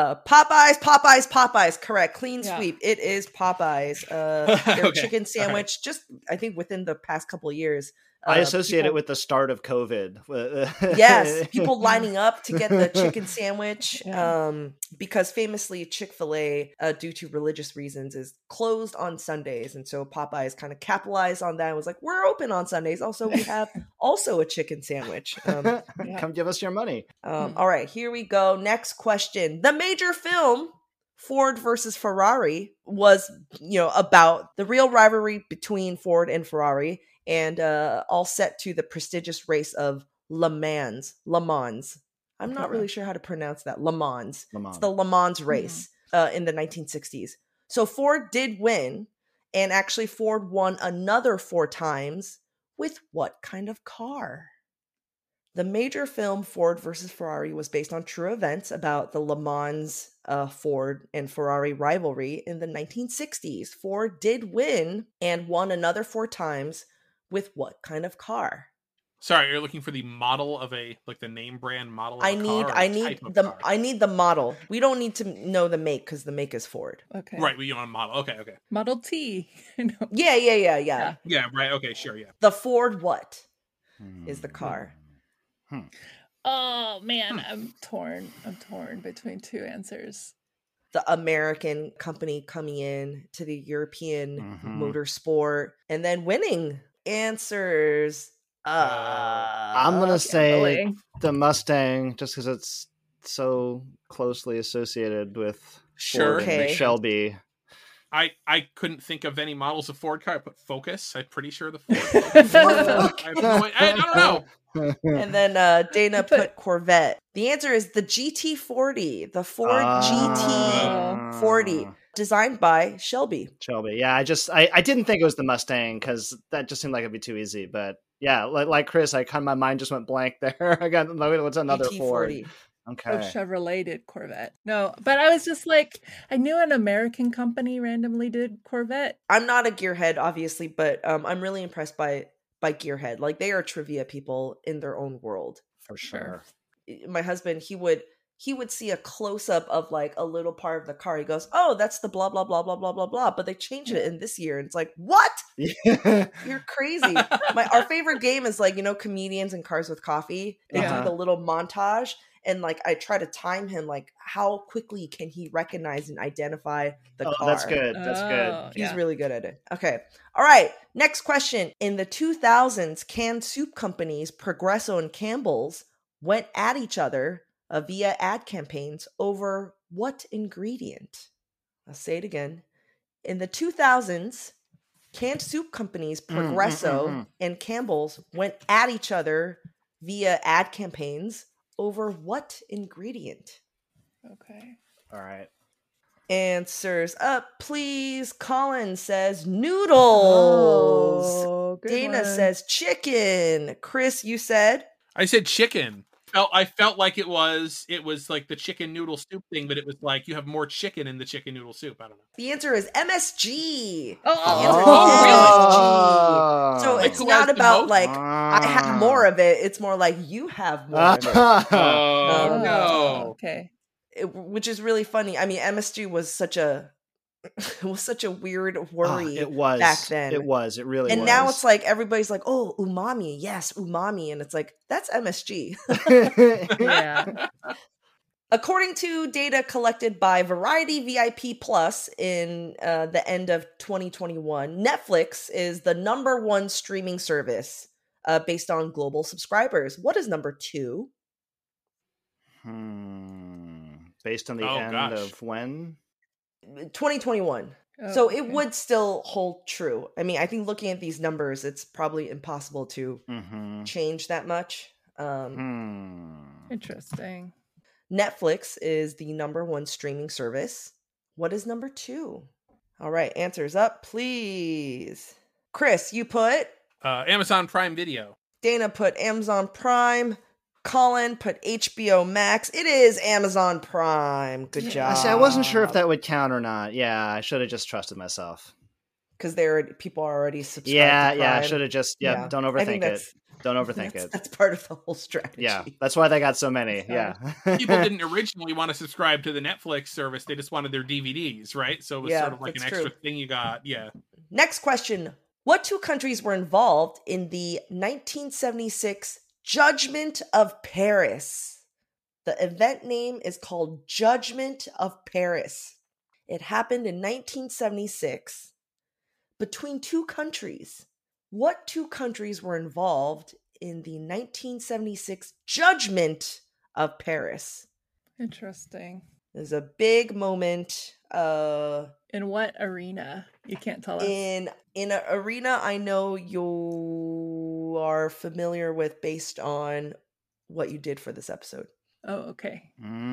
Popeyes. Correct. Clean sweep. It is Popeyes. Their chicken sandwich, just I think within the past couple of years. I associate it with the start of COVID. Yes, people lining up to get the chicken sandwich because famously Chick-fil-A, due to religious reasons, is closed on Sundays. And so Popeyes kind of capitalized on that and was like, we're open on Sundays. Also, we have also a chicken sandwich. Come give us your money. All right, here we go. Next question. The major film Ford versus Ferrari was, about the real rivalry between Ford and Ferrari. And all set to the prestigious race of Le Mans. I'm not really sure how to pronounce that. Le Mans. It's the Le Mans race in the 1960s. So Ford did win, and actually Ford won another 4 times with what kind of car? The major film Ford versus Ferrari was based on true events about the Le Mans Ford and Ferrari rivalry in the 1960s. Ford did win and won another 4 times with what kind of car? Sorry, you're looking for the model of the name brand model of I need the model. We don't need to know the make because the make is Ford. Okay. Right, we want a model. Okay. Model T. Yeah. Yeah, right. Okay, sure, yeah. The Ford what is the car? Oh man, I'm torn between 2 answers. The American company coming in to the European motorsport and then winning. Answers. I'm going to say the Mustang just because it's so closely associated with Ford and Shelby. I couldn't think of any models of Ford car. I put Focus. I'm pretty sure the Ford Focus. I don't know. And then Dana put Corvette. The answer is the GT40, the Ford GT40, designed by Shelby. Yeah, I didn't think it was the Mustang because that just seemed like it'd be too easy. But yeah, like Chris, my mind just went blank there. I got what's another GT40. Ford? Okay. Chevrolet Corvette. No, but I was just like, I knew an American company randomly did Corvette. I'm not a gearhead, obviously, but I'm really impressed by Gearhead. Like, they are trivia people in their own world. For sure. My husband, he would see a close-up of like a little part of the car. He goes, oh, that's the blah, blah, blah, blah, blah, blah, blah. But they changed it in this year. And it's like, what? You're crazy. Our favorite game is like, Comedians in Cars with Coffee. They do the little montage. And like, I try to time him, like, how quickly can he recognize and identify the car? That's good. That's good. He's really good at it. Okay. All right. Next question. In the 2000s, canned soup companies Progresso and Campbell's went at each other via ad campaigns over what ingredient? I'll say it again. In the 2000s, canned soup companies Progresso and Campbell's went at each other via ad campaigns over what ingredient? Okay. All right. Answers up, please. Colin says noodles. Oh, Dana says chicken. Chris, you said? I said chicken. I felt like it was like the chicken noodle soup thing, but it was like you have more chicken in the chicken noodle soup. I don't know. The answer is MSG. Oh, MSG. So it's not about like I have more of it. It's more like you have more of it. Oh no. Okay. Which is really funny. I mean, MSG was such a It was such a weird worry it was back then. It really was. And now it's like everybody's like, oh, umami. Yes, umami. And it's like, that's MSG. Yeah. According to data collected by Variety VIP Plus in the end of 2021, Netflix is the #1 streaming service based on global subscribers. What is number 2? Based on the end of when? 2021. Oh, so okay. it would still hold true. I mean, I think looking at these numbers, it's probably impossible to change that much. Interesting. Netflix is the #1 streaming service. What is number 2? All right, answers up, please. Chris, you put? Amazon Prime Video. Dana put Amazon Prime. Colin put HBO Max. It is Amazon Prime. Good job. See, I wasn't sure if that would count or not. Yeah, I should have just trusted myself. Because people are already subscribed to Prime. I should have just, don't overthink it. Don't overthink it. That's part of the whole strategy. Yeah, that's why they got so many. Yeah. People didn't originally want to subscribe to the Netflix service. They just wanted their DVDs, right? So it was sort of like an extra thing you got. Yeah. Next question. What 2 countries were involved in the 1976 Judgment of Paris? The event name is called Judgment of Paris. It happened in 1976 between 2 countries. What 2 countries were involved in the 1976 Judgment of Paris? Interesting. It was a big moment. In what arena? You can't tell us. In an arena I know you are familiar with based on what you did for this episode. Oh, okay.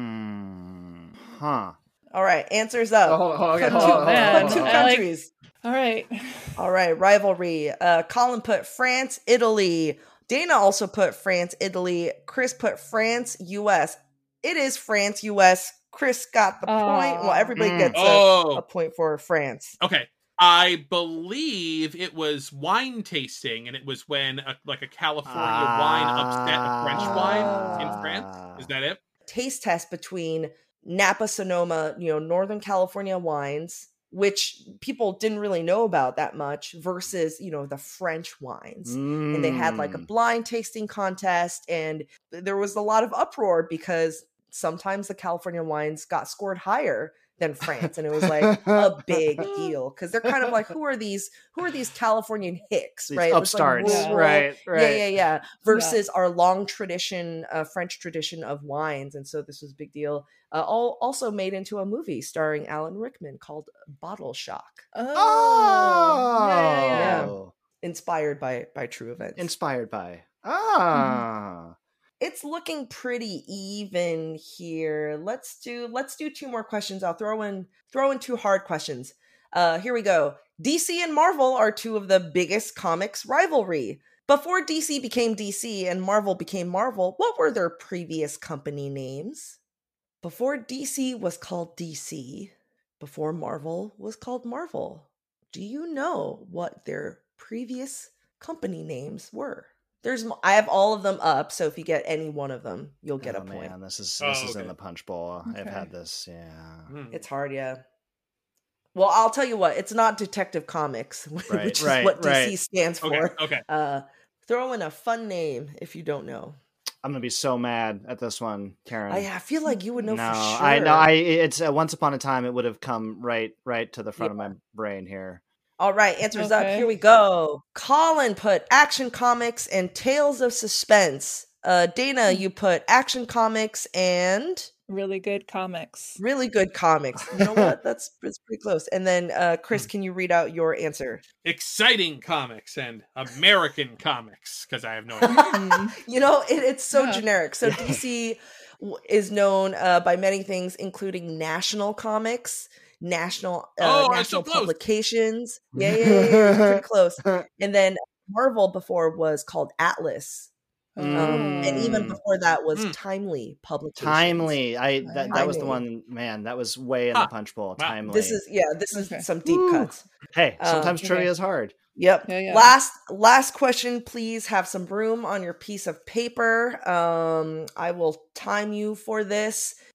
All right, answers up. Hold on. Put 2 countries. All right. All right, rivalry. Colin put France, Italy. Dana also put France, Italy. Chris put France, US. It is France, US. Chris got the point. Well, everybody gets a point for France. Okay. I believe it was wine tasting, and it was when a California wine upset a French wine in France. Is that it? Taste test between Napa Sonoma, Northern California wines, which people didn't really know about that much, versus, the French wines. And they had a blind tasting contest, and there was a lot of uproar because sometimes the California wines got scored higher than France, and it was a big deal because they're kind of like, who are these Californian hicks, these right? Upstarts, right? Yeah. Versus our long tradition, French tradition of wines, and so this was a big deal. Also made into a movie starring Alan Rickman called Bottle Shock. Yeah. Inspired by true events. Inspired by. It's looking pretty even here. Let's do 2 more questions. I'll throw in 2 hard questions. Here we go. DC and Marvel are 2 of the biggest comics rivalry. Before DC became DC and Marvel became Marvel, what were their previous company names? Before DC was called DC, before Marvel was called Marvel. Do you know what their previous company names were? I have all of them up, so if you get any one of them, you'll get a point. Man, this is in the punch bowl. Okay. I've had this, It's hard, yeah. Well, I'll tell you what, it's not Detective Comics, which is what DC stands for. Okay. Throw in a fun name if you don't know. I'm gonna be so mad at this one, Karen. I feel like you would know for sure. I know. It's once upon a time it would have come right to the front of my brain here. All right, answers up. Here we go. Colin put Action Comics and Tales of Suspense. Dana, you put Action Comics and Really Good Comics. Really Good Comics. You know what? That's pretty close. And then Chris, can you read out your answer? Exciting Comics and American Comics, because I have no idea. It's so generic. So DC is known by many things, including National Comics, National Publications. Yeah, pretty close. And then Marvel before was called Atlas. And even before that was Timely Publications. Timely. That was the one, man, that was way in the punch bowl. Wow. Timely. This is some deep cuts. Hey, sometimes trivia is hard. Yep. Yeah. Last question, please have some room on your piece of paper. I will time you for this.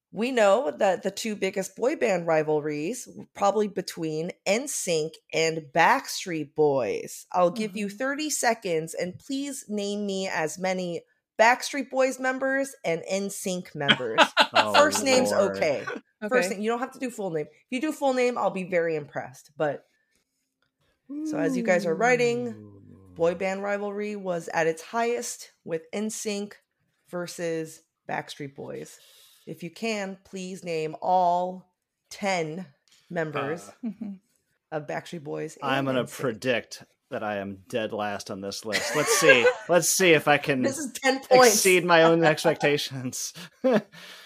We know that the two biggest boy band rivalries were probably between NSYNC and Backstreet Boys. I'll give you 30 seconds, and please name me as many Backstreet Boys members and NSYNC members. First name's okay. First name. You don't have to do full name. If you do full name, I'll be very impressed. But so as you guys are writing, boy band rivalry was at its highest with NSYNC versus Backstreet Boys. If you can, please name all 10 members of Backstreet Boys. I'm going to predict that I am dead last on this list. Let's see. Let's see if I can this is 10 points. Exceed my own expectations. There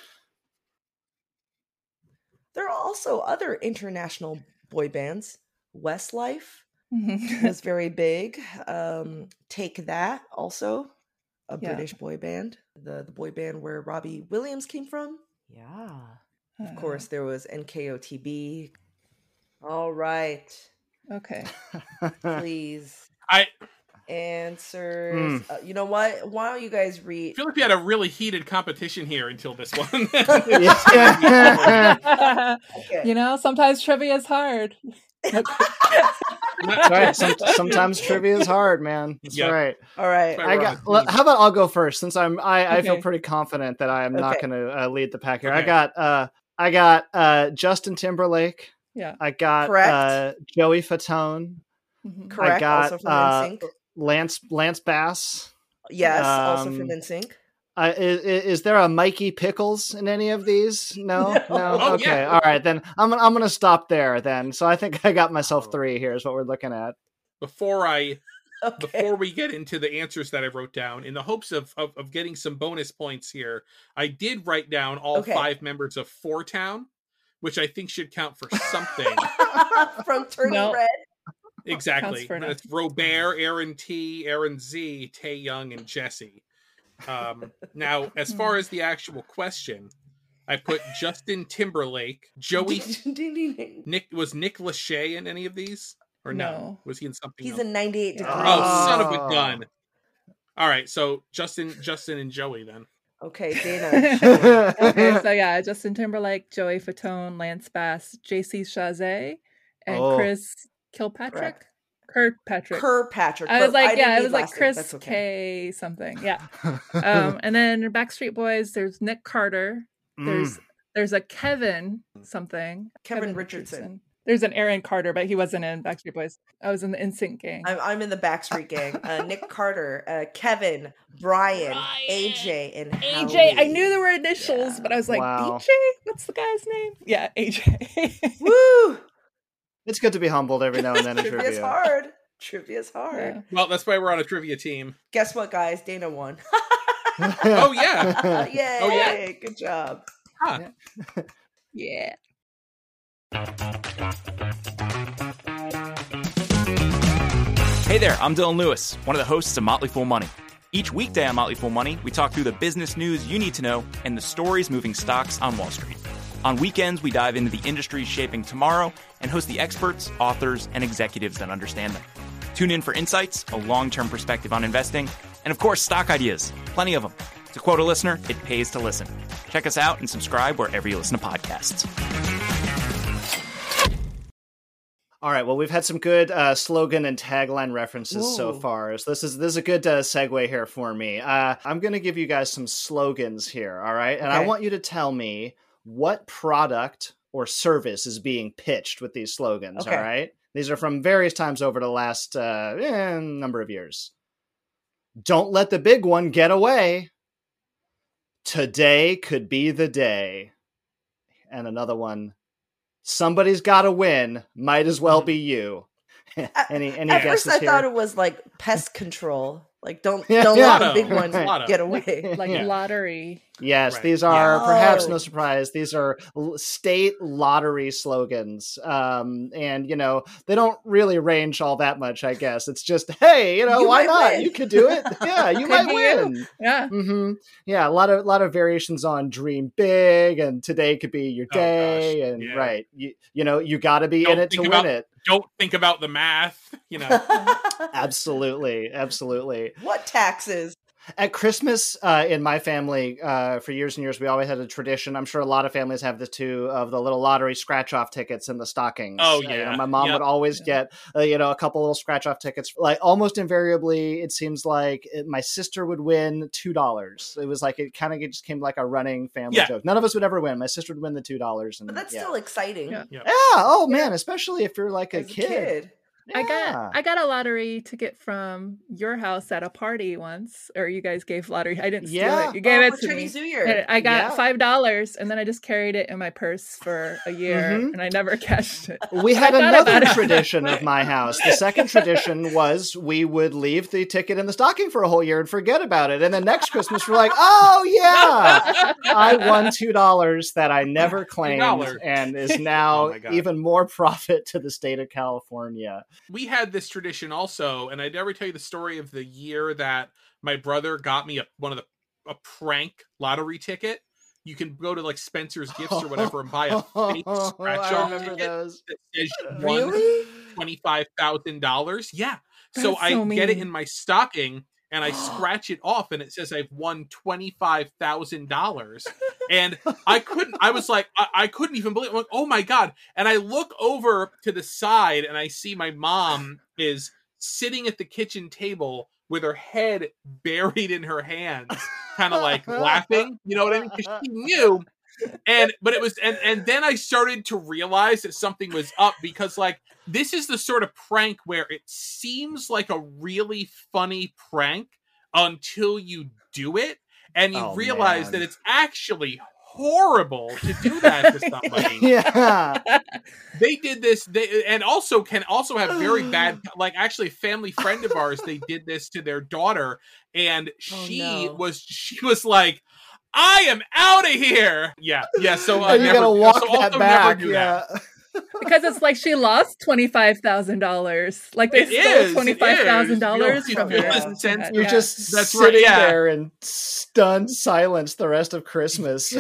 are also other international boy bands. Westlife was very big. Take That, also a British boy band. The boy band where Robbie Williams came from. Yeah. Of course, there was NKOTB. All right. Okay. Please. Answers. You know what? Why don't you guys read? I feel like we had a really heated competition here until this one. Okay. You know, sometimes trivia is hard. Right. Sometimes trivia is hard, man. That's right. All right. How about I'll go first, since I feel pretty confident that I am not going to lead the pack here. Okay. I got Justin Timberlake. Yeah. I got Joey Fatone. Correct. I got also from NSYNC. Lance Bass. Yes, also from NSYNC. Is there a Mikey Pickles in any of these? No. Oh, okay, yeah. all right. Then I'm gonna stop there. Then, so I think I got myself 3 here. Is what we're looking at. Before we get into the answers that I wrote down, in the hopes of getting some bonus points here, I did write down all 5 members of Four Town, which I think should count for something. From Turning Red. Exactly. That's Robert, Aaron T, Aaron Z, Tae Young, and Jesse. Now, as far as the actual question, I put Justin Timberlake, Joey. Nick Lachey in any of these? Or no? Was he in something He's else? in 98 Degrees. Oh, son of a gun. All right, so Justin and Joey then. Okay, Dana. Okay, so yeah, Justin Timberlake, Joey Fatone, Lance Bass, JC Chazé, and Chris Kirkpatrick. Kirkpatrick. I was like, it was like Chris K something. Yeah. And then Backstreet Boys, there's Nick Carter. There's a Kevin something. Kevin Richardson. There's an Aaron Carter, but he wasn't in Backstreet Boys. I was in the NSYNC gang. I'm in the Backstreet gang. Nick Carter, Kevin, Brian, AJ, and AJ. Howie. I knew there were initials, but I was like, DJ? What's the guy's name? Yeah, AJ. Woo! It's good to be humbled every now and then in trivia. Trivia's hard. Yeah. Well, that's why we're on a trivia team. Guess what, guys? Dana won. Oh, yeah. Yay. Oh, yeah. Good job. Huh. Yeah. Hey there, I'm Dylan Lewis, one of the hosts of Motley Fool Money. Each weekday on Motley Fool Money, we talk through the business news you need to know and the stories moving stocks on Wall Street. On weekends, we dive into the industries shaping tomorrow and host the experts, authors, and executives that understand them. Tune in for insights, a long-term perspective on investing, and of course, stock ideas. Plenty of them. To quote a listener, it pays to listen. Check us out and subscribe wherever you listen to podcasts. All right. Well, we've had some good slogan and tagline references so far. So this is a good segue here for me. I'm going to give you guys some slogans here. All right. And I want you to tell me what product or service is being pitched with these slogans. Okay. All right. These are from various times over the last number of years. Don't let the big one get away. Today could be the day. And another one. Somebody's got to win. Might as well be you. Any At guesses first, I here? thought it was like pest control. Like don't let the big ones get away. Like lottery. Yes, Right. these are perhaps no surprise. These are state lottery slogans, and they don't really range all that much. I guess it's just, hey, why not? Win. You could do it. Yeah, you might win. Yeah. Mm-hmm. Yeah, a lot of variations on dream big, and today could be your day, and right, you got to be in it to win it. Don't think about the math. Absolutely. What taxes? At Christmas, in my family, for years and years, we always had a tradition. I'm sure a lot of families have this too, of the little lottery scratch-off tickets in the stockings. Oh, yeah. My mom would always get, a couple little scratch-off tickets. Like almost invariably, it seems like my sister would win $2. It was like, it kind of just came like a running family joke. None of us would ever win. My sister would win the $2. And, but that's still exciting. Yeah. Oh, man. Especially if you're like a kid. Yeah. I got a lottery ticket from your house at a party once, or you guys gave lottery. I didn't steal it. You gave it to Chinese me. New Year. And I got $5, and then I just carried it in my purse for a year, and I never cashed it. We had another tradition of my house. The second tradition was we would leave the ticket in the stocking for a whole year and forget about it. And then next Christmas, we're like, oh, yeah, I won $2 that I never claimed and is now even more profit to the state of California. We had this tradition also, and I'd never tell you the story of the year that my brother got me a prank lottery ticket. You can go to like Spencer's Gifts or whatever and buy a fake scratch-off ticket those. that says you won $25,000. Yeah. So I get it in my stocking and I scratch it off and it says I've won $25,000. And I couldn't even believe it. I'm like, oh my God. And I look over to the side and I see my mom is sitting at the kitchen table with her head buried in her hands, kind of like laughing. You know what I mean? Because she knew. And then I started to realize that something was up, because like this is the sort of prank where it seems like a really funny prank until you do it and you realize that it's actually horrible to do that to somebody. Yeah. They did this, and also can also have very bad, like actually a family friend of ours, they did this to their daughter, and she was like, I am out of here. Yeah. So you gotta walk that back. Yeah. Because it's like she lost $25,000. Like they stole $25,000 from her. You're just sitting there in stunned silence the rest of Christmas.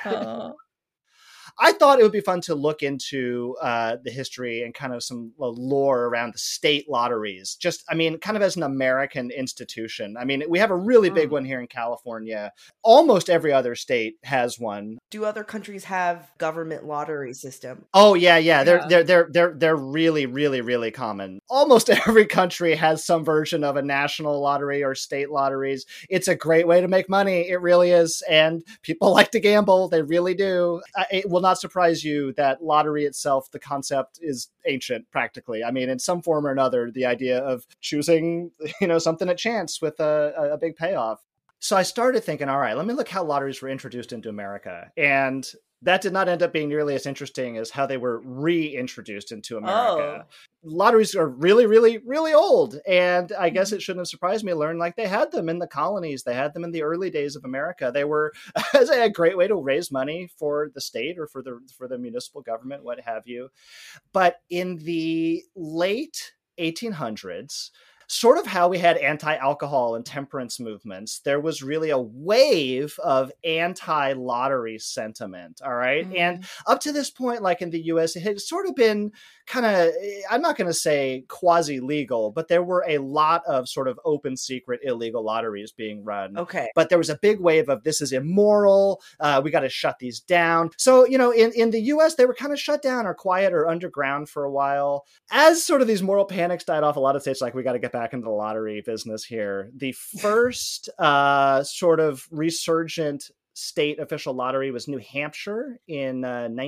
I thought it would be fun to look into the history and kind of some lore around the state lotteries. Just, I mean, kind of as an American institution. I mean, we have a really big one here in California. Almost every other state has one. Do other countries have government lottery system? Oh yeah. They're really, really, really common. Almost every country has some version of a national lottery or state lotteries. It's a great way to make money. It really is. And people like to gamble. They really do. It will not surprise you that lottery itself, the concept is ancient practically. I mean, in some form or another, the idea of choosing, something at chance with a big payoff. So I started thinking, all right, let me look how lotteries were introduced into America. And that did not end up being nearly as interesting as how they were reintroduced into America. Lotteries are really, really, really old. And I guess it shouldn't have surprised me to learn like they had them in the colonies. They had them in the early days of America. They were a great way to raise money for the state or for the municipal government, what have you. But in the late 1800s, sort of how we had anti-alcohol and temperance movements, there was really a wave of anti-lottery sentiment, all right? Mm-hmm. And up to this point, like in the US, it had sort of been kind of, I'm not going to say quasi-legal, but there were a lot of sort of open secret illegal lotteries being run. Okay. But there was a big wave of this is immoral, we got to shut these down. So, in the US, they were kind of shut down or quiet or underground for a while. As sort of these moral panics died off, a lot of states like, we got to get back into the lottery business here. The first sort of resurgent state official lottery was New Hampshire in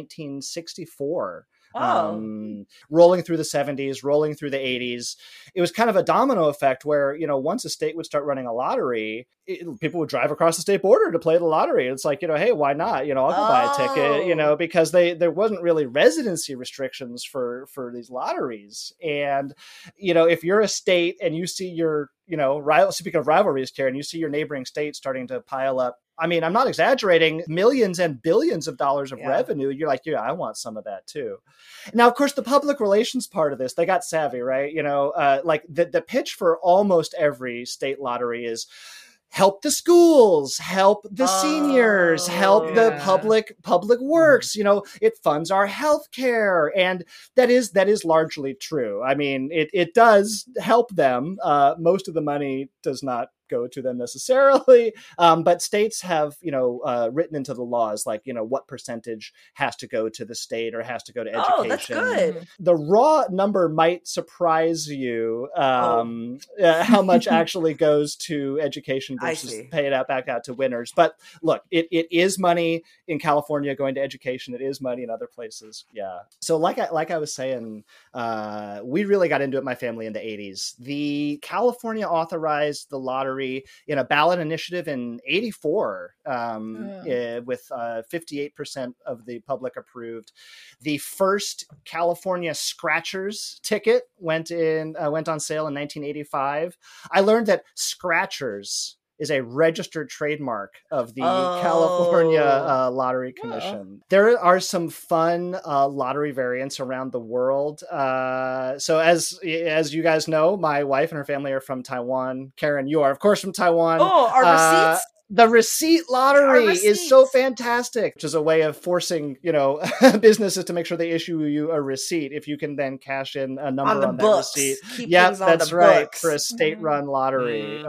1964. Rolling through the 70s, rolling through the 80s. It was kind of a domino effect where, once a state would start running a lottery, people would drive across the state border to play the lottery. It's like, hey, why not? I'll go buy a ticket, because there wasn't really residency restrictions for these lotteries. And, if you're a state and you see your, speaking of rivalries, Karen, you see your neighboring state starting to pile up, I mean, I'm not exaggerating, millions and billions of dollars of revenue. You're like, I want some of that too. Now, of course, the public relations part of this, they got savvy, right? Like the pitch for almost every state lottery is help the schools, help the seniors, help the public works. It funds our healthcare. And that is largely true. I mean, it does help them. Most of the money does not go to them necessarily. But states have, written into the laws, like, what percentage has to go to the state or has to go to education. Oh, that's good. The raw number might surprise you, how much actually goes to education versus paid out back out to winners. But look, it is money in California going to education. It is money in other places. Yeah. So like I was saying, we really got into it, my family, in the 80s. The California authorized the lottery in a ballot initiative in 84, with 58% of the public approved. The first California Scratchers ticket went on sale in 1985. I learned that Scratchers is a registered trademark of the California Lottery Commission. There are some fun lottery variants around the world. So as you guys know, my wife and her family are from Taiwan. Karen, you are, of course, from Taiwan. Oh, our receipts? The receipt lottery is so fantastic, which is a way of forcing, businesses to make sure they issue you a receipt if you can then cash in a number on that receipt. Yep, that's right. Books. For a state-run lottery.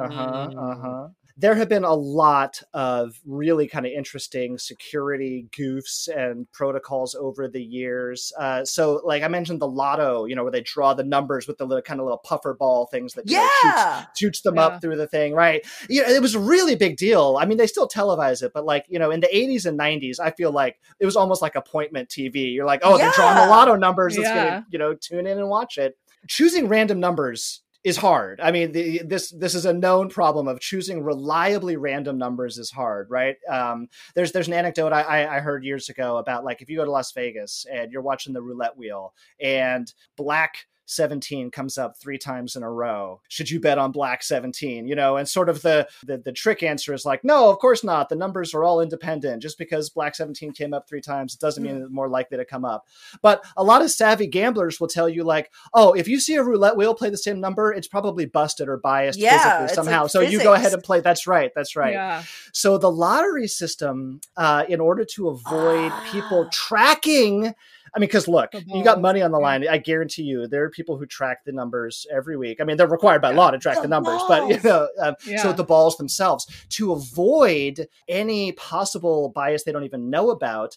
There have been a lot of really kind of interesting security goofs and protocols over the years. So like I mentioned the lotto, where they draw the numbers with the little puffer ball things that shoots them up through the thing, right? It was a really big deal. I mean, they still televise it, but in the 80s and 90s, I feel like it was almost like appointment TV. You're like, they're drawing the lotto numbers. Let's get tune in and watch it. Choosing random numbers is hard. I mean, this is a known problem of choosing reliably random numbers is hard, right? There's an anecdote I heard years ago about, like, if you go to Las Vegas and you're watching the roulette wheel and black 17 comes up 3 times in a row, should you bet on black 17? And sort of the trick answer is like, no, of course not. The numbers are all independent. Just because black 17 came up 3 times, it doesn't mean it's more likely to come up. But a lot of savvy gamblers will tell you, like, oh, if you see a roulette wheel play the same number, it's probably busted or biased physically somehow. Like, so you go ahead and play. That's right. Yeah. So the lottery system, in order to avoid people tracking, I mean, because look, you got money on the line. I guarantee you there are people who track the numbers every week. I mean, they're required by law to track the numbers, but so the balls themselves, to avoid any possible bias they don't even know about,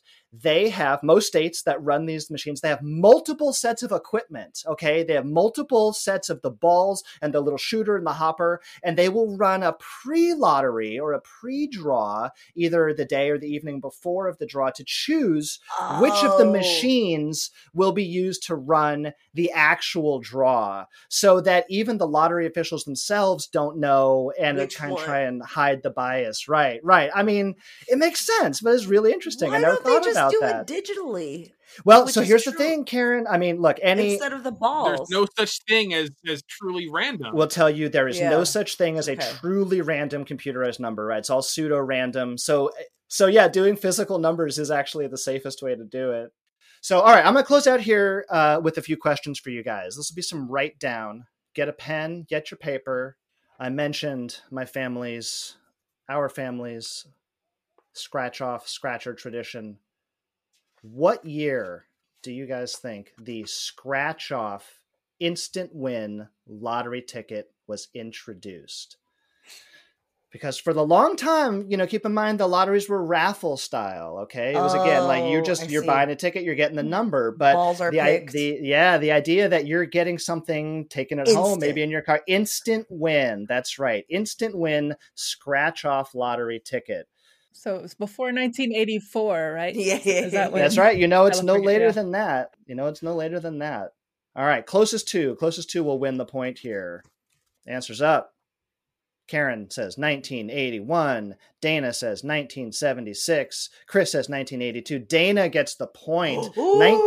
most states that run these machines, they have multiple sets of equipment. Okay. They have multiple sets of the balls and the little shooter and the hopper, and they will run a pre-lottery or a pre-draw either the day or the evening before of the draw to choose which of the machines will be used to run the actual draw, so that even the lottery officials themselves don't know and try and hide the bias. Right. I mean, it makes sense, but it's really interesting. I never thought about do that. It digitally. Well, so here's the thing, Karen. I mean, look, instead of the balls, there's no such thing as truly random. We'll tell you there is no such thing as a truly random computerized number, right? It's all pseudo-random. So yeah, doing physical numbers is actually the safest way to do it. So, all right, I'm going to close out here with a few questions for you guys. This will be some write down. Get a pen, get your paper. I mentioned our family's scratcher tradition. What year do you guys think the scratch off instant win lottery ticket was introduced? Because for the long time, keep in mind the lotteries were raffle style. Okay, it was again like you're buying a ticket, you're getting the number, but balls are picked. The idea that you're getting something taken at home, maybe in your car, instant win. That's right, instant win scratch off lottery ticket. So it was before 1984, right? Yeah. Is that when That's right. It's no later than that. It's no later than that. All right, closest two will win the point here. Answer's up. Karen says 1981. Dana says 1976. Chris says 1982. Dana gets the point.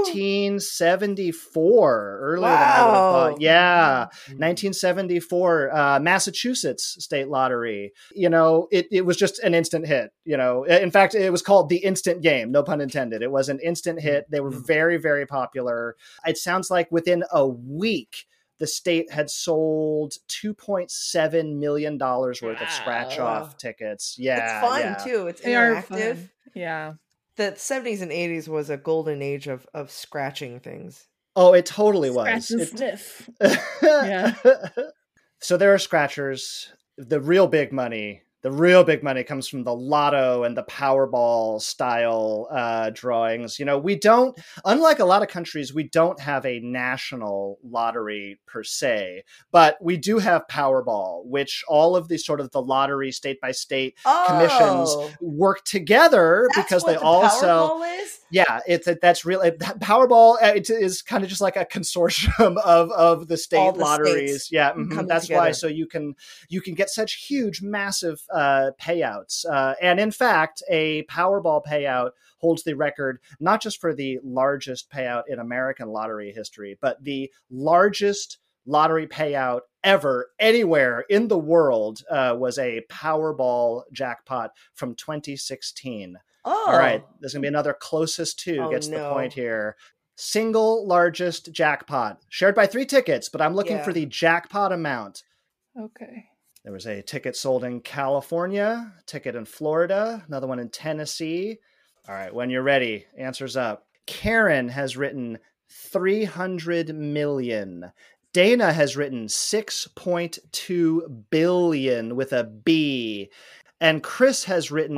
1974. Earlier than I would have thought. Yeah. 1974. Massachusetts State Lottery. It was just an instant hit. In fact, it was called the instant game. No pun intended. It was an instant hit. They were very, very popular. It sounds like within a week, the state had sold $2.7 million worth of scratch-off tickets. Yeah, it's fun too. It's interactive. Yeah, the 70s and 80s was a golden age of scratching things. Oh, it totally was. Scratch and sniff. Yeah. So there are scratchers. the real big money comes from the lotto and the Powerball style drawings. We don't, unlike a lot of countries, we don't have a national lottery per se, but we do have Powerball, which all of these sort of the lottery state by state commissions work together because they all sell. Yeah, that's real. Powerball it is kind of just like a consortium of the state lotteries. States. Yeah, that's together. Why. So you can get such huge, massive payouts. And in fact, a Powerball payout holds the record not just for the largest payout in American lottery history, but the largest lottery payout ever anywhere in the world was a Powerball jackpot from 2016. All right, there's going to be another closest to gets the point here. Single largest jackpot shared by 3 tickets, but I'm looking for the jackpot amount. Okay. There was a ticket sold in California, a ticket in Florida, another one in Tennessee. All right, when you're ready, answers up. Karen has written 300 million. Dana has written 6.2 billion with a B. And Chris has written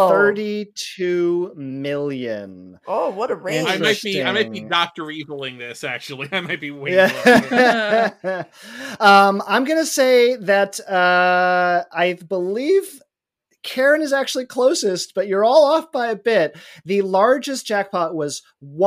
32 million. Oh, what a range. I might be Dr. Eviling this, actually. I might be way low. I'm going to say that I believe Karen is actually closest, but you're all off by a bit. The largest jackpot was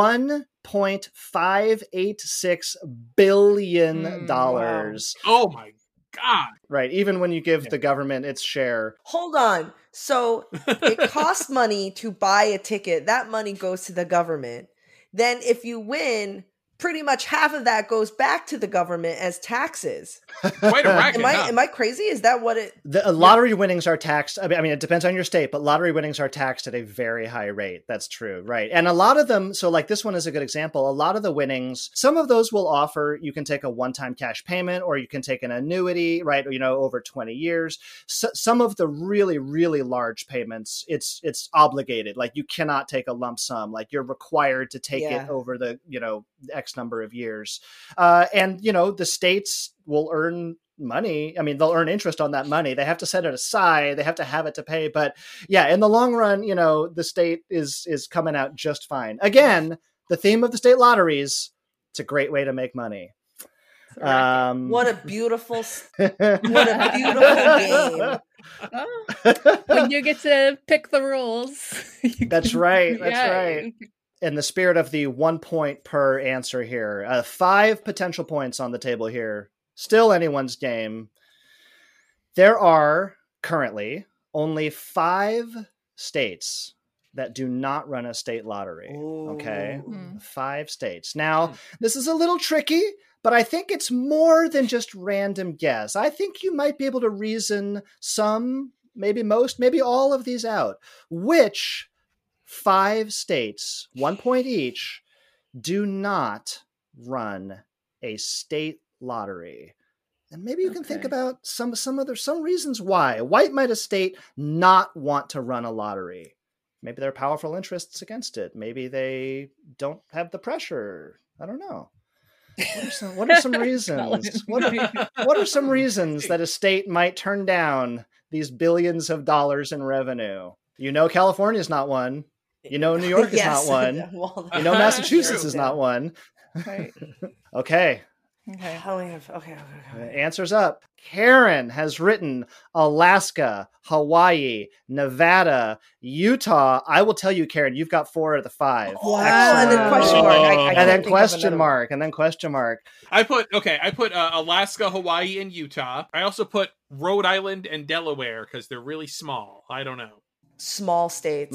$1.586 billion. Wow. Oh, my God. Right. Even when you give the government its share. Hold on. So it costs money to buy a ticket. That money goes to the government. Then if you win, pretty much half of that goes back to the government as taxes. Quite a racket. Am I crazy? Is that what it... The lottery winnings are taxed. I mean, it depends on your state, but lottery winnings are taxed at a very high rate. That's true. Right. And a lot of them, so like this one is a good example. A lot of the winnings, some of those will offer, you can take a one-time cash payment or you can take an annuity, right? Over 20 years. So, some of the really, really large payments, it's obligated. Like you cannot take a lump sum. Like you're required to take it over the, X number of years. And the states will earn money. I mean, they'll earn interest on that money. They have to set it aside. They have to have it to pay. But yeah, in the long run, the state is coming out just fine. Again, the theme of the state lotteries, it's a great way to make money. What a beautiful game. When you get to pick the rules. That's right. That's right. In the spirit of the 1 point per answer here, 5 potential points on the table here. Still anyone's game. There are currently only 5 states that do not run a state lottery. Ooh. Okay. 5 states. Now, this is a little tricky, but I think it's more than just random guess. I think you might be able to reason some, maybe most, maybe all of these out. Which 5 states, 1 point each, do not run a state lottery? And maybe you can think about some reasons why. Why might a state not want to run a lottery? Maybe there are powerful interests against it. Maybe they don't have the pressure. I don't know. What are some reasons? What are some reasons that a state might turn down these billions of dollars in revenue? California is not one. New York is not one. Well, Massachusetts is not one. Right. Okay. Okay. Answers up. Karen has written Alaska, Hawaii, Nevada, Utah. I will tell you, Karen, you've got 4 of the 5. Wow. And then question mark. And then question mark. I put Alaska, Hawaii, and Utah. I also put Rhode Island and Delaware because they're really small. I don't know. Small states.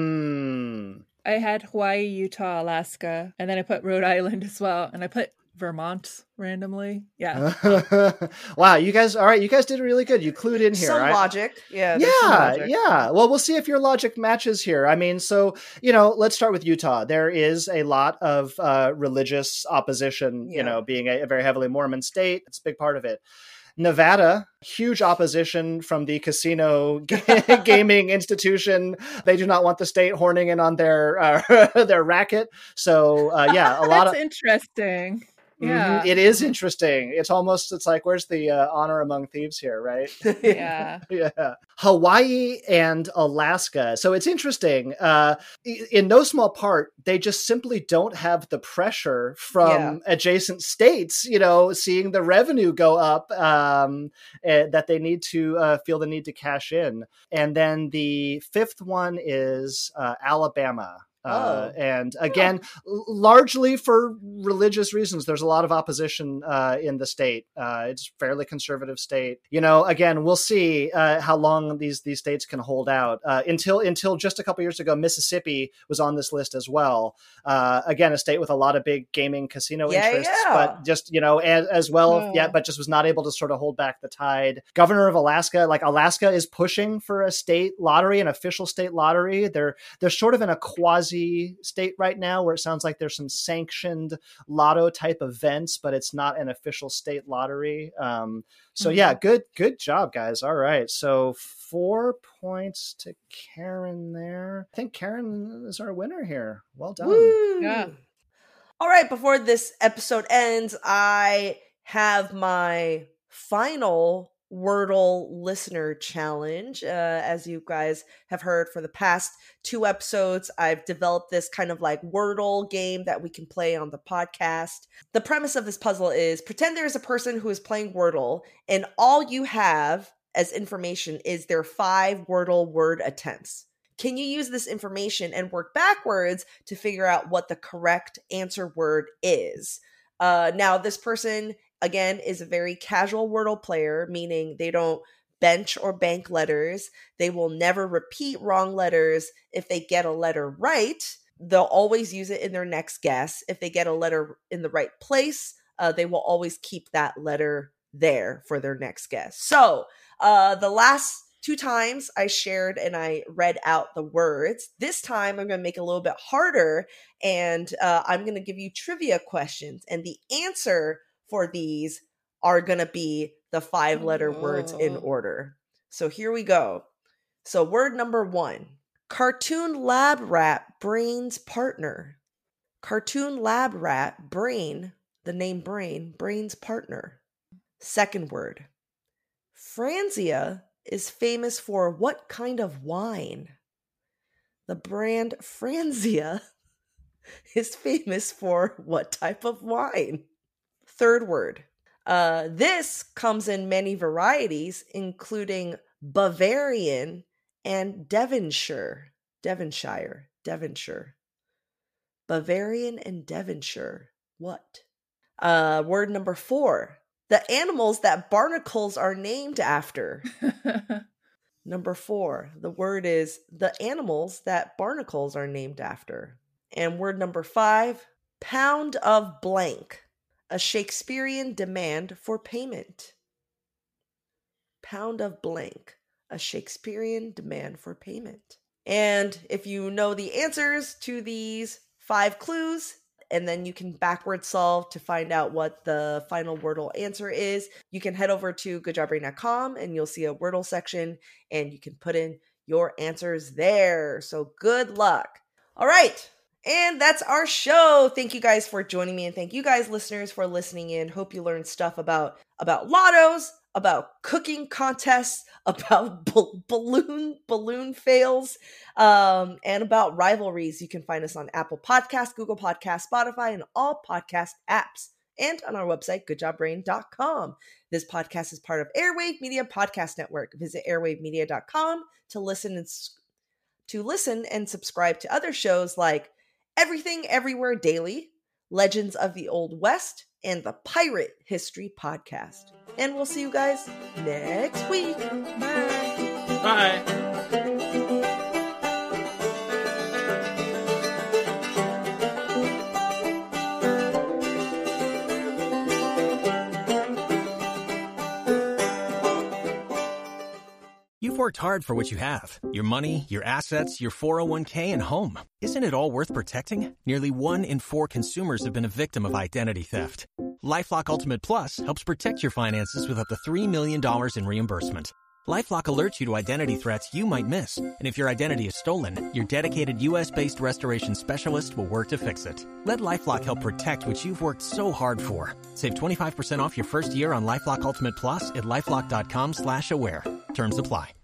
I had Hawaii, Utah, Alaska, and then I put Rhode Island as well, and I put Vermont randomly. Yeah. Wow, you guys, all right, you guys did really good. You clued in here. Some logic. Yeah. Yeah. Well, we'll see if your logic matches here. I mean, so, let's start with Utah. There is a lot of religious opposition, being a very heavily Mormon state. It's a big part of it. Nevada, huge opposition from the casino gaming institution. They do not want the state horning in on their racket. So a lot of interesting. Yeah. It is interesting. It's like, where's the honor among thieves here, right? Yeah. Yeah. Hawaii and Alaska. So it's interesting. In no small part, they just simply don't have the pressure from adjacent states, seeing the revenue go up, that they need to feel the need to cash in. And then the fifth one is Alabama. And again, largely for religious reasons, there's a lot of opposition in the state. It's a fairly conservative state. Again, we'll see how long these states can hold out. Until just a couple years ago, Mississippi was on this list as well. Again, a state with a lot of big gaming casino interests, but just as well, but just was not able to sort of hold back the tide. Governor of Alaska, Alaska is pushing for a state lottery, an official state lottery. They're sort of in a quasi state right now where it sounds like there's some sanctioned lotto type events, but it's not an official state lottery. Good job, guys. All right. So 4 points to Karen there. I think Karen is our winner here. Well done. Woo! Yeah. All right. Before this episode ends, I have my final Wordle listener challenge. As you guys have heard for the past 2 episodes, I've developed this kind of like Wordle game that we can play on the podcast. The premise of this puzzle is pretend there's a person who is playing Wordle and all you have as information is their 5 Wordle word attempts. Can you use this information and work backwards to figure out what the correct answer word is? Now, this person again, is a very casual Wordle player, meaning they don't bench or bank letters. They will never repeat wrong letters. If they get a letter right, they'll always use it in their next guess. If they get a letter in the right place, they will always keep that letter there for their next guess. So the last 2 times I shared and I read out the words. This time I'm going to make it a little bit harder, and I'm going to give you trivia questions, and the answer for these are going to be the 5-letter words in order. So here we go. So word number 1, cartoon lab rat brain's partner. Cartoon lab rat, brain, the name brain, brain's partner. Second word, Franzia is famous for what kind of wine? The brand Franzia is famous for what type of wine? Third word, this comes in many varieties, including Bavarian and Devonshire. Bavarian and Devonshire. What? Word number 4, the animals that barnacles are named after. Number 4, the word is the animals that barnacles are named after. And word number 5, pound of blank. A Shakespearean demand for payment. Pound of blank. A Shakespearean demand for payment. And if you know the answers to these 5 clues, and then you can backward solve to find out what the final Wordle answer is, you can head over to goodjobbrain.com and you'll see a Wordle section and you can put in your answers there. So good luck. All right. And that's our show. Thank you guys for joining me, and thank you guys listeners for listening in. Hope you learned stuff about lottos, about cooking contests, about balloon fails, and about rivalries. You can find us on Apple Podcasts, Google Podcasts, Spotify, and all podcast apps, and on our website, goodjobbrain.com. This podcast is part of Airwave Media Podcast Network. Visit airwavemedia.com to listen and subscribe to other shows like Everything Everywhere Daily, Legends of the Old West, and the Pirate History Podcast. And we'll see you guys next week. Bye. Bye. You've worked hard for what you have. Your money, your assets, your 401k, and home. Isn't it all worth protecting? Nearly 1 in 4 consumers have been a victim of identity theft. LifeLock Ultimate Plus helps protect your finances with up to $3 million in reimbursement. LifeLock alerts you to identity threats you might miss. And if your identity is stolen, your dedicated U.S.-based restoration specialist will work to fix it. Let LifeLock help protect what you've worked so hard for. Save 25% off your first year on LifeLock Ultimate Plus at LifeLock.com/aware. Terms apply.